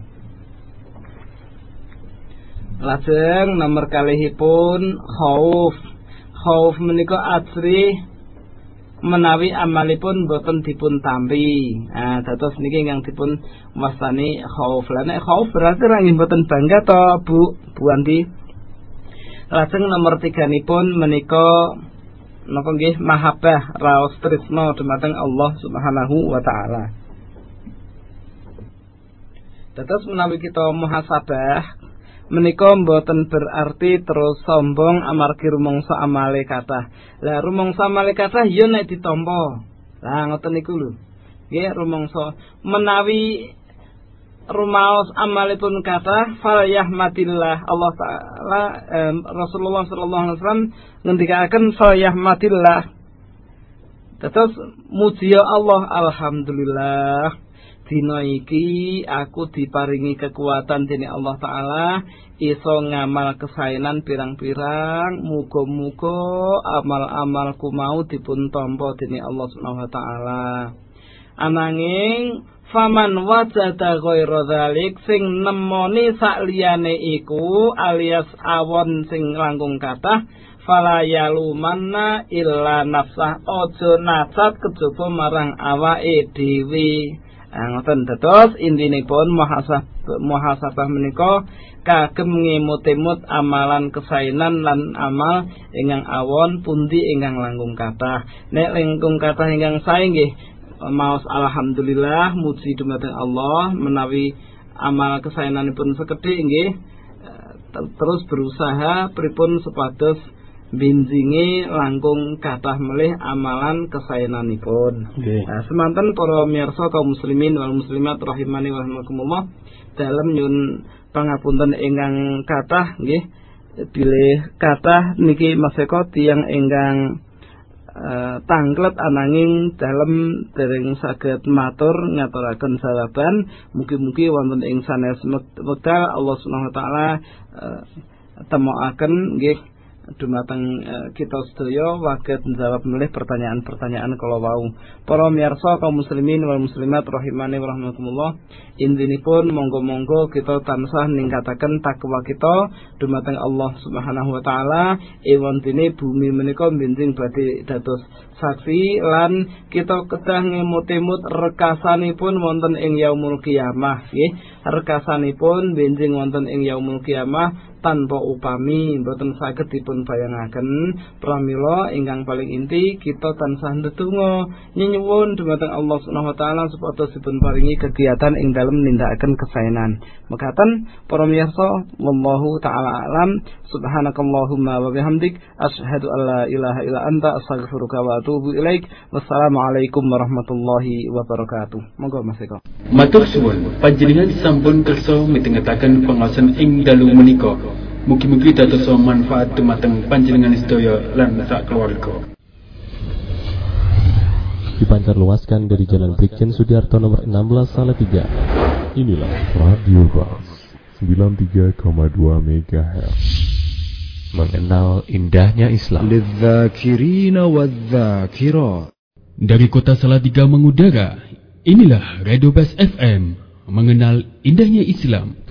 Lajeng nomor kalihipun khauf menika ajri menawi amalipun boten dipun tampi. Nah, dados niki ingkang dipun wastani khauf. Lah nek khauf berarti ra boten bangga to Bu Andi. Lajeng nomor 3-nipun menika napa nggih mahabbah raos tresna dumateng Allah Subhanahu wa taala. Dados menawi kita muhasabah menika mboten berarti terus sombong amargi rumangsa amale kathah. Lah rumangsa amale kathah ya nek ditampa. Lah ngoten niku lho. Nggih rumangsa menawi rumaos amalipun kathah fal yahmatillah Allah taala Rasulullah sallallahu alaihi wasallam ngendikaken fal yahmatillah. Terus muji Allah alhamdulillah dina iki aku diparingi kekuatan dening Allah taala iso ngamal kesaenan pirang-pirang, muga-muga amal-amalku mau dipun tampa dening Allah Subhanahu wa taala. Ananging faman wajada ghaira dzalik sing nemoni sakliyane iku alias awon sing langkung kathah fala yalumanna illa nafsah, aja nacat kejaba marang awake dhewe. Ngoten dados intinipun muhasabah menika kagem ngemut-emut amalan kesaenan lan amal ingkang awon pundi ingkang langkung kathah. Nek langkung kathah ingkang sae nggih maos alhamdulillah muji dumateng Allah menawi amal kesaenanipun sekedhik nggih terus berusaha pripun supados binjingi langkung kathah melih amalan kesaenanipun. Nah, semanten para miyarsa kaum muslimin wal muslimat rahimani wa rahimakumullah dalem nyun pangapunten ingkang kathah nggih bilih kathah niki Mas Eko tiyang ingkang tanglet ananging dalem dereng saged matur ngaturaken jawaban mugi-mugi wonten ing sanes wekdal Allah Subhanahu wa taala temokaken nggih dumateng kita sedaya waget njawab melih pertanyaan-pertanyaan kala wau. Para miyarsa kaum muslimin wal muslimat rahimani wa rahmakumullah, intinipun monggo-monggo kita tansah ningkataken takwa kita dumateng Allah Subhanahu wa taala. Ewontene bumi menika benjing badhe dados saksi lan kita kedah ngemut-emut rekasanipun wonten ing yaumul qiyamah nggih. Rekasanipun benjing wonten ing yaumul qiyamah tanpa upami boten saged dipun bayangaken. Pramila ingkang paling inti kita tansah ndedonga nyuwun dumateng Allah Subhanahu wa taala supados dipun paringi kegiatan ing dalem nindakaken kesaenan. Mekaten para miyarsa, wallahu taala alam. Subhanakallahumma wa bihamdik asyhadu an la ilaha illa anta astaghfiruka wa atubu ilaik. Wassalamualaikum warahmatullahi wabarakatuh. Monggo Mas Eko. Matur suwun panjenengan sampun kersa mitengetaken pangaosan ing dalu menika. Mugi-mugi dados manfaat dumateng panjenengan sedaya lan sak keluarga. Dipancarluaskan dari Jalan Brigjen Sudiarto nomor 16 Salatiga. Inilah Radio Ras 93,2 MHz. Mengenal indahnya Islam. للذاكرين والذاكرات. Dari kota Salatiga mengudara, inilah Radio Best FM, mengenal indahnya Islam.